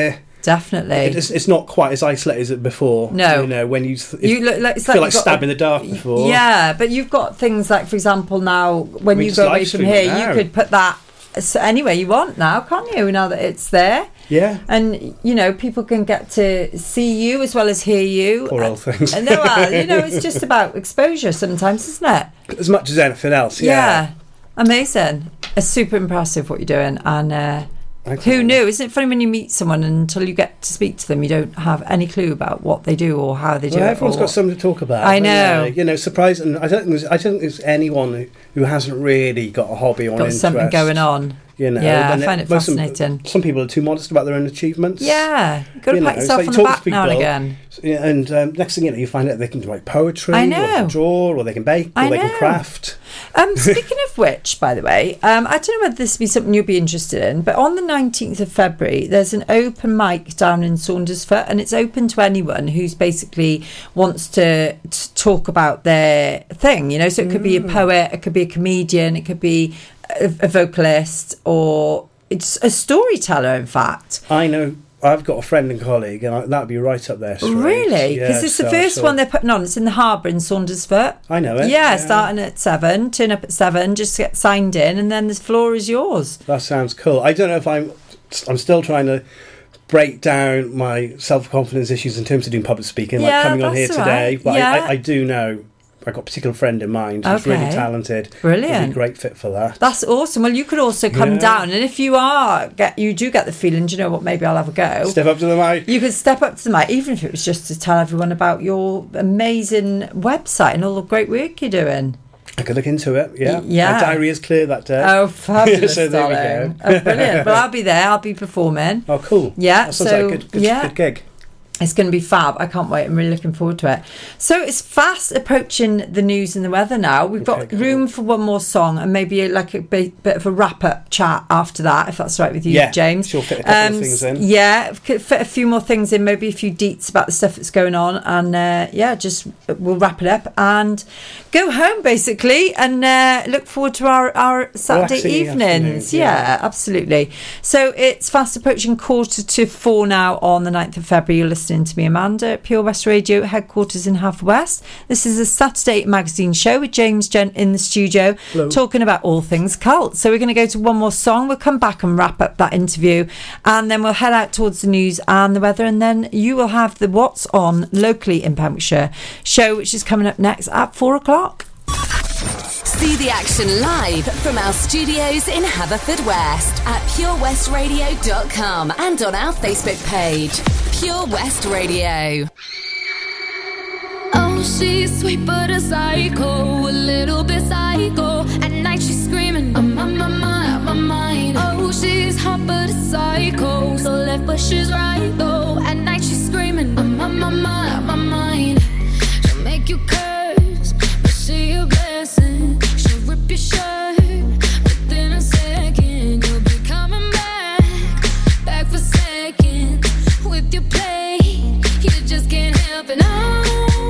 definitely. It's, it's not quite as isolated as it before. No. You know, when you, th- You look like, it's feel like like you've got stabbing a- the dark before. Yeah, but you've got things like, for example, now when We you just go away live from stream here, it you now. could put that s- anywhere you want now, can't you? Now that it's there. Yeah. And, you know, people can get to see you as well as hear you. Poor old things. And, well, you know, it's just about exposure sometimes, isn't it? As much as anything else, yeah. Yeah. Amazing. It's super impressive what you're doing. And uh, Thanks, who Anna. knew? Isn't it funny when you meet someone and until you get to speak to them, you don't have any clue about what they do or how they do Well, it? everyone's or got what- something to talk about. I haven't know. they? You know, surprising. I don't think there's, I don't think there's anyone who, who hasn't really got a hobby or an got interest. something going on. You know, Yeah, I and find it most of them- fascinating. Some people are too modest about their own achievements. Yeah, you've got to You pat know, yourself so on you the talk to back now and people, again. Yeah, and um, next thing you know, you find out they can write poetry, I or they know. can draw, or they can bake, or I they know. can craft. Um, speaking of which, by the way, um, I don't know whether this would be something you'd be interested in, but on the nineteenth of February, there's an open mic down in Saundersfoot, and it's open to anyone who's basically wants to, to talk about their thing, you know, so it could be a poet, it could be a comedian, it could be a, a vocalist, or it's a storyteller, in fact. I know. I've got a friend and colleague, and I, that'd be right up there. straight. Really? Yeah, Because it's the so- first so- one they're putting on. It's in the Harbour in Saundersfoot. I know it. Yeah, starting at seven. Turn up at seven. Just get signed in, and then the floor is yours. That sounds cool. I don't know if I'm. I'm still trying to break down my self-confidence issues in terms of doing public speaking, Yeah, like coming on here that's all today. right. But Yeah. I, I, I do know I've got a particular friend in mind who's really Okay. talented. Brilliant. He'd be a great fit for that. That's awesome. Well, you could also come Yeah. down, and if you are get you do get the feeling, do you know what? Maybe I'll have a go. Step up to the mic. You could step up to the mic, even if it was just to tell everyone about your amazing website and all the great work you're doing. I could look into it. Yeah. Y- yeah. My diary is clear that day. Oh, fabulous, So there we darling. go. Oh, brilliant. Well, I'll be there. I'll be performing. Oh, cool. Yeah, That sounds so, like a good, good, yeah. good gig. It's going to be fab. I can't wait. I'm really looking forward to it. So it's fast approaching the news and the weather now. We've got Okay, cool. room for one more song and maybe like a bit, bit of a wrap-up chat after that, if that's right with you, Yeah, James. she'll fit a couple of things in. Yeah, f- fit a few more things in, maybe a few deets about the stuff that's going on. And uh, yeah, just we'll wrap it up and go home basically and uh, look forward to our, our Saturday Relaxing evenings. afternoon, yeah. yeah. Absolutely. So it's fast approaching quarter to four now on the ninth of February. You're listening to me, Amanda, at Pure West Radio, headquarters in Haverfordwest. This is a Saturday magazine show with James Gent in the studio, Hello. talking about all things cult. So we're going to go to one more song. We'll come back and wrap up that interview, and then we'll head out towards the news and the weather, and then you will have the What's On locally in Pembrokeshire show, which is coming up next at four o'clock. See the action live from our studios in Haverfordwest at pure west radio dot com and on our Facebook page, Pure West Radio. Oh, she's sweet but a psycho, a little bit psycho. At night she's screaming, I'm on my mind, my mind. Oh, she's hot but a psycho, so left but she's right though. At night she's screaming, I'm on my mind, my mind. She'll make you curse, but she a blessing. She'll rip your shirt within a second. You'll be coming back, back for seconds with your play. You just can't help it. No,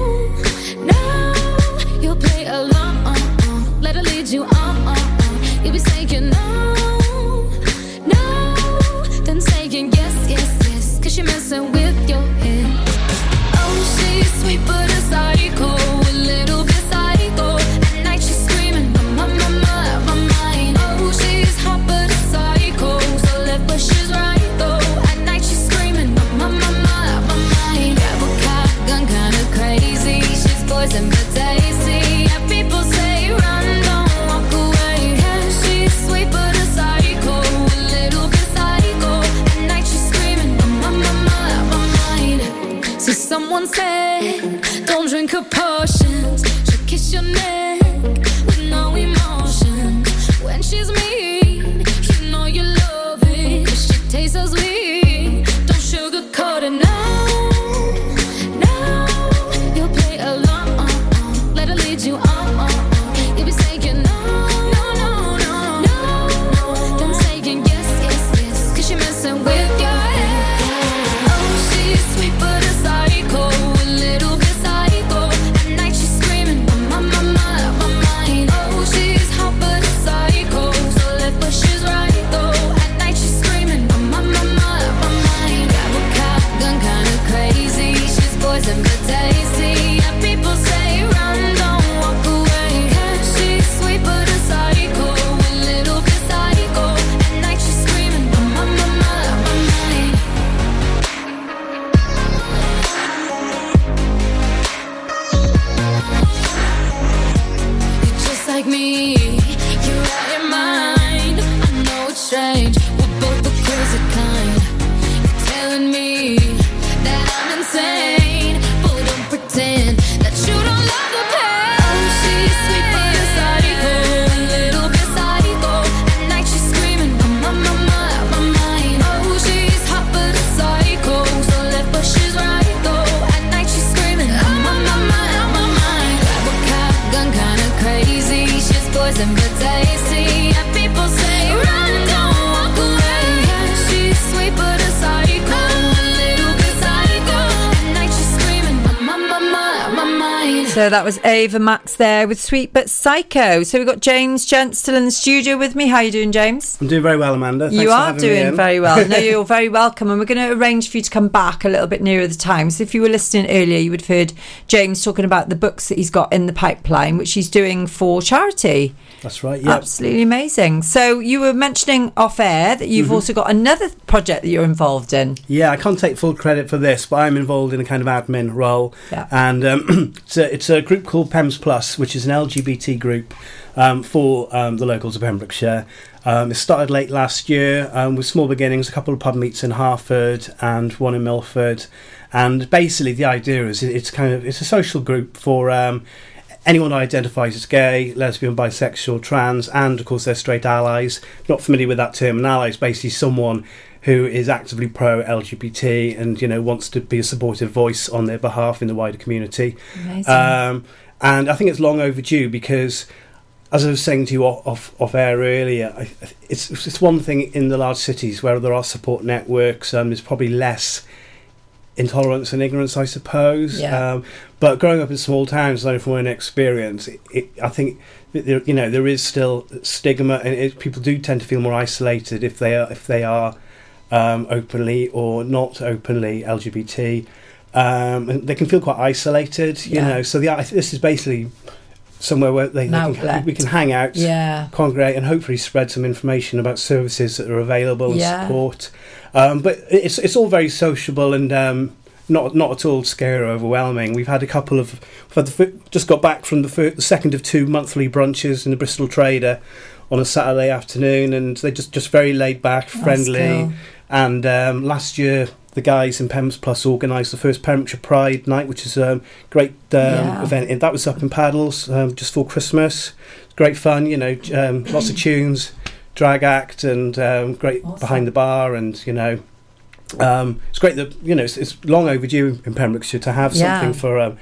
no, you'll play along. Let her lead you on. You'll be saying no, no, then saying yes, yes, yes. Cause you're messing with your head. Oh, she's sweet but a psycho, a little bit psycho. At night she's screaming, my, my, my, my mind. Oh, she's hot but a psycho, so left but she's right though. At night she's screaming, my, my, my, my mind. Grab a cock gun, kinda crazy. She's poison but tasty. Yeah, people say run, don't walk away. Yeah, she's sweet but a psycho, a little bit psycho. At night she's screaming, my, my, my, my mind. So someone said, don't drink her potions. She'll kiss your neck with no emotion. When she's mean, you know you love it. She tastes so sweet, don't sugarcoat it. No, no, you'll play along. Let her lead you on. You'll be saying no, no, no, no, no. Then saying yes, yes, yes. Cause you're messing with your head. Oh, she's sweet but a psycho, a little bit psycho. At night she's screaming, my, my, my, So that was Ava Max there with Sweet But Psycho. So we've got James Gent still in the studio with me. How are you doing, James? I'm doing very well, Amanda. Thanks you for are having me doing in. very well. No, you're very welcome. And we're going to arrange for you to come back a little bit nearer the time. So if you were listening earlier, you would have heard James talking about the books that he's got in the pipeline, which he's doing for charity. That's right, yeah. Absolutely amazing. So you were mentioning off air that you've Mhm. also got another project that you're involved in. Yeah, I can't take full credit for this, but I'm involved in a kind of admin role. Yeah. And um, it's, a, it's a group called Pems Plus, which is an L G B T group um, for um, the locals of Pembrokeshire. Um, it started late last year um, with small beginnings, a couple of pub meets in Hartford and one in Milford. And basically the idea is it's kind of it's a social group for um, anyone who identifies as gay, lesbian, bisexual, trans, and of course their straight allies. Not familiar with that term, an ally is basically someone who is actively pro-L G B T and, you know, wants to be a supportive voice on their behalf in the wider community. Amazing. Um, and I think it's long overdue because, as I was saying to you off, off, off air earlier, I, it's, it's one thing in the large cities where there are support networks, um, there's probably less intolerance and ignorance, I suppose. Yeah. Um, but growing up in small towns, I know from my own experience, it, it, I think that there, you know, there is still stigma, and it, people do tend to feel more isolated if they are if they are um, openly or not openly L G B T, um, and they can feel quite isolated. You Yeah. know, so the I- this is basically somewhere where they, An they outlet. can, we can hang out, Yeah. congregate, and hopefully spread some information about services that are available and Yeah. support. Um, but it's it's all very sociable and um, not not at all scary or overwhelming. We've had a couple of we've had the, fir- just got back from the, fir- the second of two monthly brunches in the Bristol Trader on a Saturday afternoon, and they're just, just very laid back, friendly. cool. And um, last year, the guys in Pems Plus organised the first Pembrokeshire Pride Night, which is a great um, Yeah. event. And that was up in Paddles um, just for Christmas. Great fun, you know, um, lots of tunes, drag act, and um, great Awesome. behind the bar, and you know, um, it's great that you know it's, it's long overdue in Pembrokeshire to have Yeah. something for um,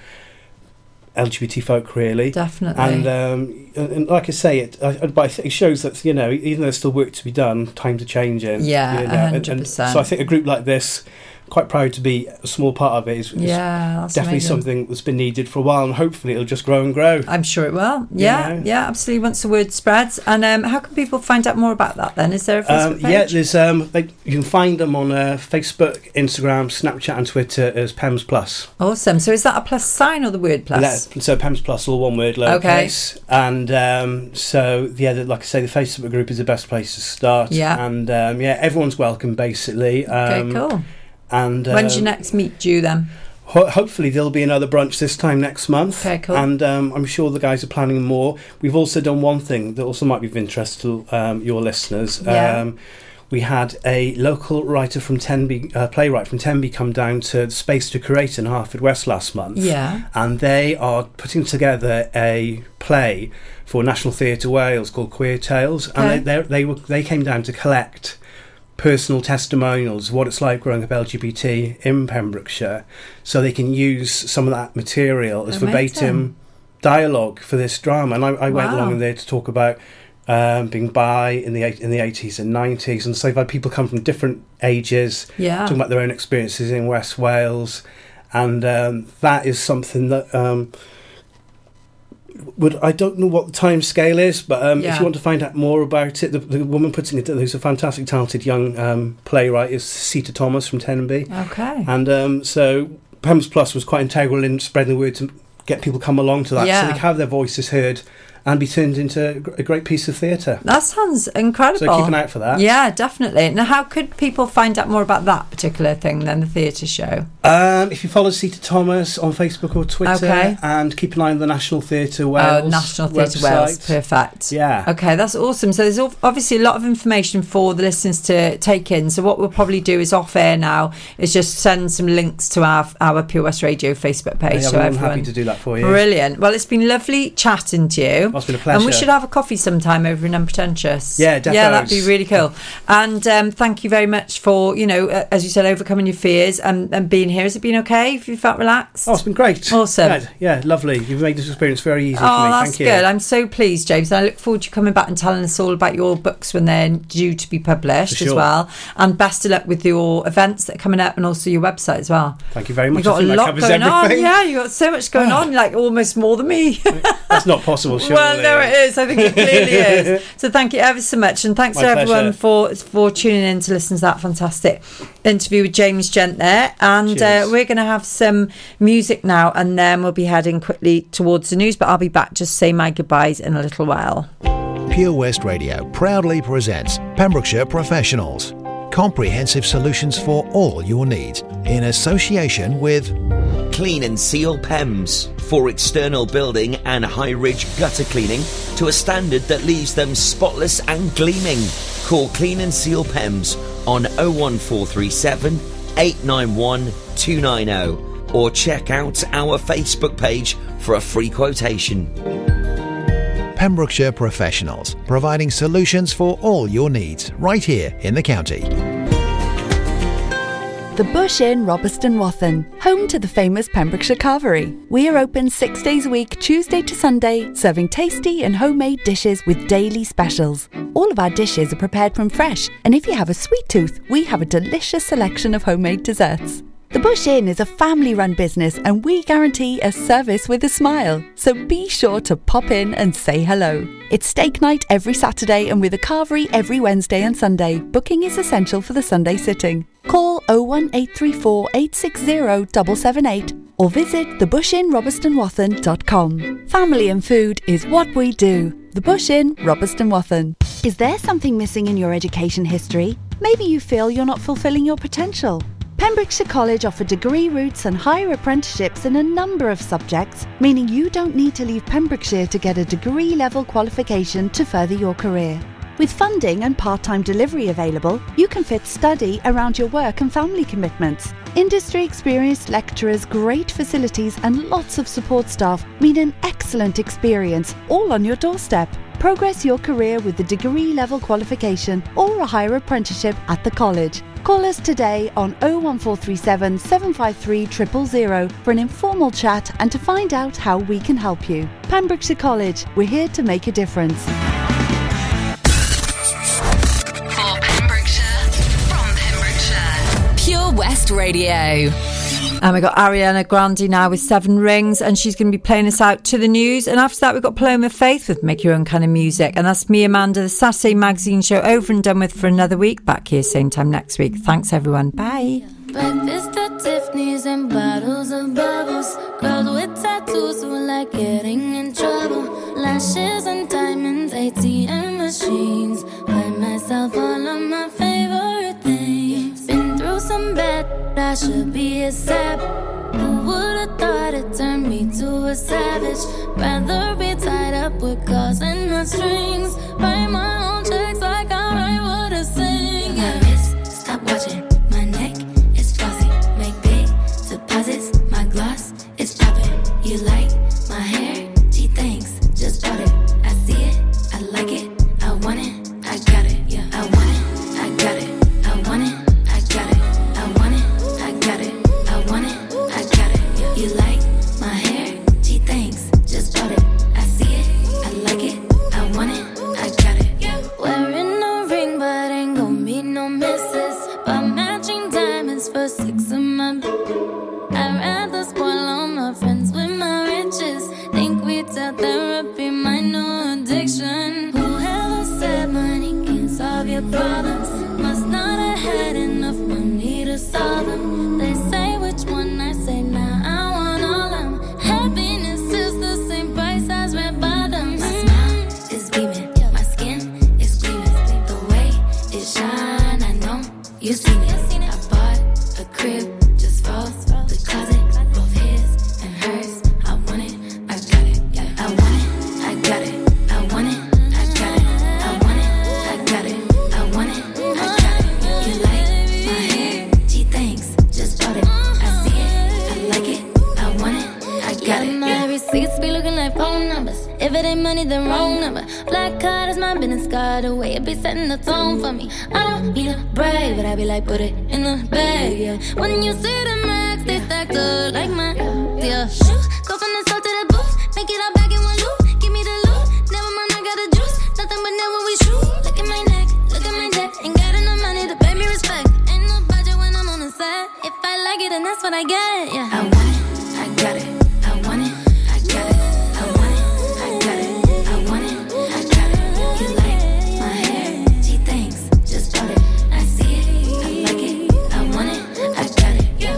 L G B T folk, really. Definitely. And, um, and, and like I say, it, I, but I think it shows that you know, even though there's still work to be done, times are changing. Yeah, you know, one hundred and- and percent. So I think a group like this, quite proud to be a small part of it, is, is Yeah, that's definitely amazing. something that's been needed for a while, and hopefully it'll just grow and grow. I'm sure it will. Yeah, know? yeah, absolutely. Once the word spreads. And um, how can people find out more about that then? Is there a Facebook Um, page? yeah, there's um, they, you can find them on uh, Facebook, Instagram, Snapchat, and Twitter as Pems Plus. Awesome. So is that a plus sign or the word plus? Yeah, so Pems Plus, all one word, lowercase. And um, so yeah, the, like I say, the Facebook group is the best place to start. Yeah. And um, yeah, everyone's welcome basically. Okay, Um, cool. And When's your um, next meet due then? Ho- hopefully there'll be another brunch this time next month. Okay, cool. And um, I'm sure the guys are planning more. We've also done one thing that also might be of interest to um, your listeners. Yeah. Um, we had a local writer from Tenby, uh, playwright from Tenby, come down to the Space to Create in Hartford West last month. Yeah. And they are putting together a play for National Theatre Wales called Queer Tales. Okay. And they, they, they, were, they came down to collect personal testimonials of what it's like growing up L G B T in Pembrokeshire, so they can use some of that material as Amazing. verbatim dialogue for this drama. And I, I went Wow. along in there to talk about um, being bi in the eight- in the eighties and nineties, and so I've had people come from different ages Yeah. talking about their own experiences in West Wales, and um, that is something that um, would I don't know what the time scale is, but um, Yeah. if you want to find out more about it, the, the woman putting it, who's a fantastic, talented young um, playwright, is Sita Thomas from Tenby, Okay. and um, so Pems Plus was quite integral in spreading the word to get people come along to that, Yeah. so they can have their voices heard and be turned into a great piece of theatre. That sounds incredible. So keep an eye out for that. Yeah, definitely. Now, how could people find out more about that particular thing then, the theatre show? Um, if you follow Sita Thomas on Facebook or Twitter, Okay. and keep an eye on the National Theatre Wales Oh, National Theatre website. Wales. Perfect. Yeah. Okay, that's awesome. So there's al- obviously a lot of information for the listeners to take in. So what we'll probably do is off air now is just send some links to our our Pure West Radio Facebook page. Yeah, so I'm everyone. happy to do that for you. Brilliant. Well, it's been lovely chatting to you. you. Oh, it's been a pleasure. And we should have a coffee sometime over in Unpretentious. Yeah, definitely. Yeah, that'd be really cool. And um, thank you very much for, you know, uh, as you said, overcoming your fears and, and being here. Has it been okay? Have you felt relaxed? Oh, it's been great. Awesome. Yeah, yeah, lovely. You've made this experience very easy Oh, for me. that's Thank you. good. I'm so pleased, James. And I look forward to you coming back and telling us all about your books when they're due to be published For as sure. well. And best of luck with your events that are coming up and also your website as well. Thank you very much. You've got I think a that lot covers going everything. on. Yeah, you've got so much going on, like almost more than me. That's not possible, surely. Well, no, it is. I think it clearly is. So thank you ever so much. And thanks My to everyone pleasure. for for tuning in to listen to that fantastic interview with James Gent there. And uh, Cheers. we're going to have some music now and then we'll be heading quickly towards the news. But I'll be back just to say my goodbyes in a little while. Pure West Radio proudly presents Pembrokeshire Professionals. Comprehensive solutions for all your needs in association with Clean and Seal P E M S for external building and high-ridge gutter cleaning to a standard that leaves them spotless and gleaming. Call Clean and Seal P E M S on oh one four three seven, eight nine one, two nine oh or check out our Facebook page for a free quotation. Pembrokeshire Professionals, providing solutions for all your needs right here in the county. The Bush Inn, Robeston Wathen, home to the famous Pembrokeshire Carvery. We are open six days a week, Tuesday to Sunday, serving tasty and homemade dishes with daily specials. All of our dishes are prepared from fresh, and if you have a sweet tooth, we have a delicious selection of homemade desserts. The Bush Inn is a family-run business and we guarantee a service with a smile. So be sure to pop in and say hello. It's steak night every Saturday and with a carvery every Wednesday and Sunday. Booking is essential for the Sunday sitting. Call oh one eight three four, eight six zero, seven seven eight or visit the bush inn robeston wathen dot com. Family and food is what we do. The Bush Inn, Robeston Wathen. Is there something missing in your education history? Maybe you feel you're not fulfilling your potential. Pembrokeshire College offer degree routes and higher apprenticeships in a number of subjects, meaning you don't need to leave Pembrokeshire to get a degree-level qualification to further your career. With funding and part-time delivery available, you can fit study around your work and family commitments. Industry-experienced lecturers, great facilities and lots of support staff mean an excellent experience, all on your doorstep. Progress your career with a degree-level qualification or a higher apprenticeship at the college. Call us today on oh one four three seven, seven five three, zero zero zero for an informal chat and to find out how we can help you. Pembrokeshire College, we're here to make a difference. For Pembrokeshire, from Pembrokeshire, Pure West Radio. And we've got Ariana Grande now with Seven Rings, and she's going to be playing us out to the news. And after that, we've got Paloma Faith with Make Your Own Kind of Music. And that's me, Amanda, the Saturday Magazine Show, over and done with for another week. Back here same time next week. Thanks, everyone. Bye. Breakfast at Tiffany's and bottles of bubbles. Girls with tattoos who like getting in trouble. Lashes and diamonds, A T M machines. Buy myself all of my favorite things. Been through some bad, I should be a sap. Who would've thought it turned me to a savage? Rather be tied up with calls and not strings. Write my own checks like I write what I sing. My wrist, stop watching. My neck is fuzzy. Make big deposits. My gloss is popping. You like my hair? Gee, thanks. Just bought it. I see it. I like it. I want it. I got it. Yeah, I want it. I got it. I want it. I got it. I want it. I got it. I want it. I got it. Yeah. You like my hair? Gee, thanks. Just bought it. I see it. I like it. I want it. I got it. Yeah. Wearing a ring, but ain't gon' be no misses. But matching diamonds for six of my. I'd rather spoil all my friends with my riches. Think we tell therapy my new addiction. Whoever said money can solve your problems must not have had enough money to solve them. They say which one, I say nah, I want all of them. Happiness is the same price as red bottoms. My smile is beaming, my skin is gleaming. The way it shine, I know you seen it. I bought a crib just for the closet, both his and hers. I want it, I got it. I want it, I got it. I want it, I got it. I want it, I got it. I want it, I got it. You like my hair? Gee, thanks. Just bought it. I see it, I like it. I want it, I got it. My receipts be looking like phone numbers. If it ain't money, then wrong number. Black card is my business card. The way it be setting the tone for me. I don't need a brag, but I be like, put it in the bag, yeah. When you see the max, they stacked up like mine, yeah. Shoot, go from the south to the booth. Make it all back in one loop. Give me the loot. Never mind, I got the juice. Nothing but never we shoot. Look at my neck, look at my neck. Ain't got enough money to pay me respect. Ain't no budget when I'm on the set. If I like it, then that's what I get, yeah. I want it, I got it. I want it, I got it. I want it, I got it. I want it, I got it. You like my hair? She thinks, just bought it. I see it, I like it. I want it, I got it, yeah.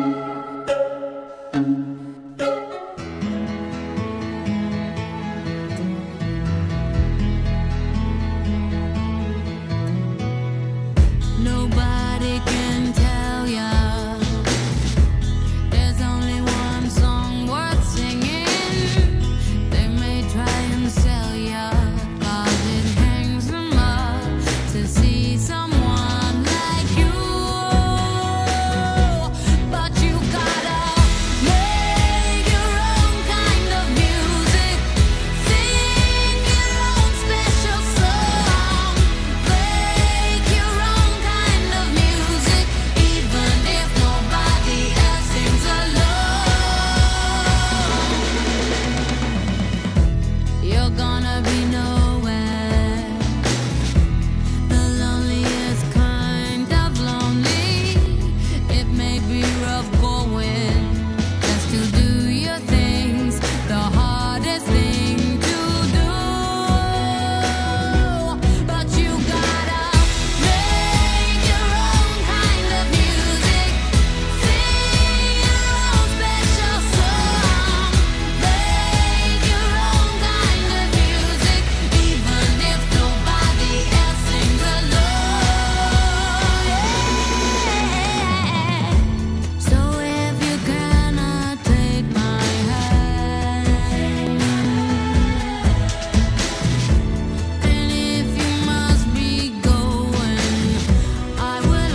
Nobody can tell ya. There's only one song worth singing. They may try and sell ya, 'cause it hangs them up to see someone like you. But you gotta make your own kind of music. Sing your own special song. Make your own kind of music, even if nobody else sings along. You're gonna be nowhere, the loneliest kind of lonely. It may be rough going just to do your things, the hardest thing to do. But you gotta make your own kind of music. Sing your own special song. Make your own kind of music, even if nobody else sings along. Yeah. So if you cannot take my hand, and if you must be going, I will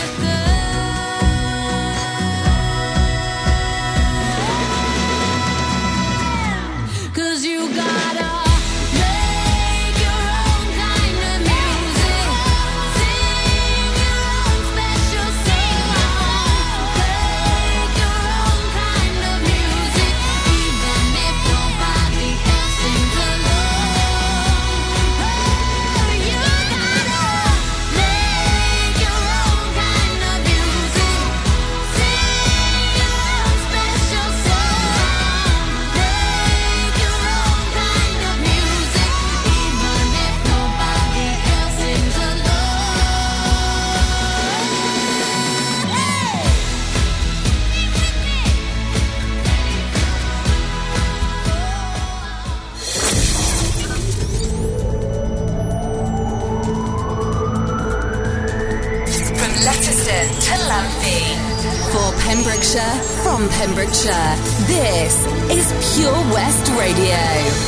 understand. 'Cause you gotta make your own kind of music. Sing your own special song. Make your own kind of music, even if nobody else sings along. You gotta make your own kind of music. Sing your own special song. Make your own kind of music, even if nobody else sings From Letterston to Lamptey. For Pembrokeshire, from Pembrokeshire, this is Pure West Radio.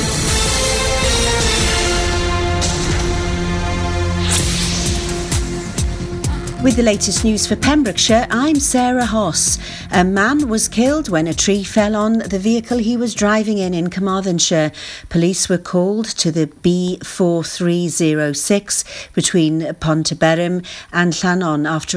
With the latest news for Pembrokeshire, I'm Sarah Hoss. A man was killed when a tree fell on the vehicle he was driving in in Carmarthenshire. Police were called to the B four three zero six between Pontyberem and Llanon after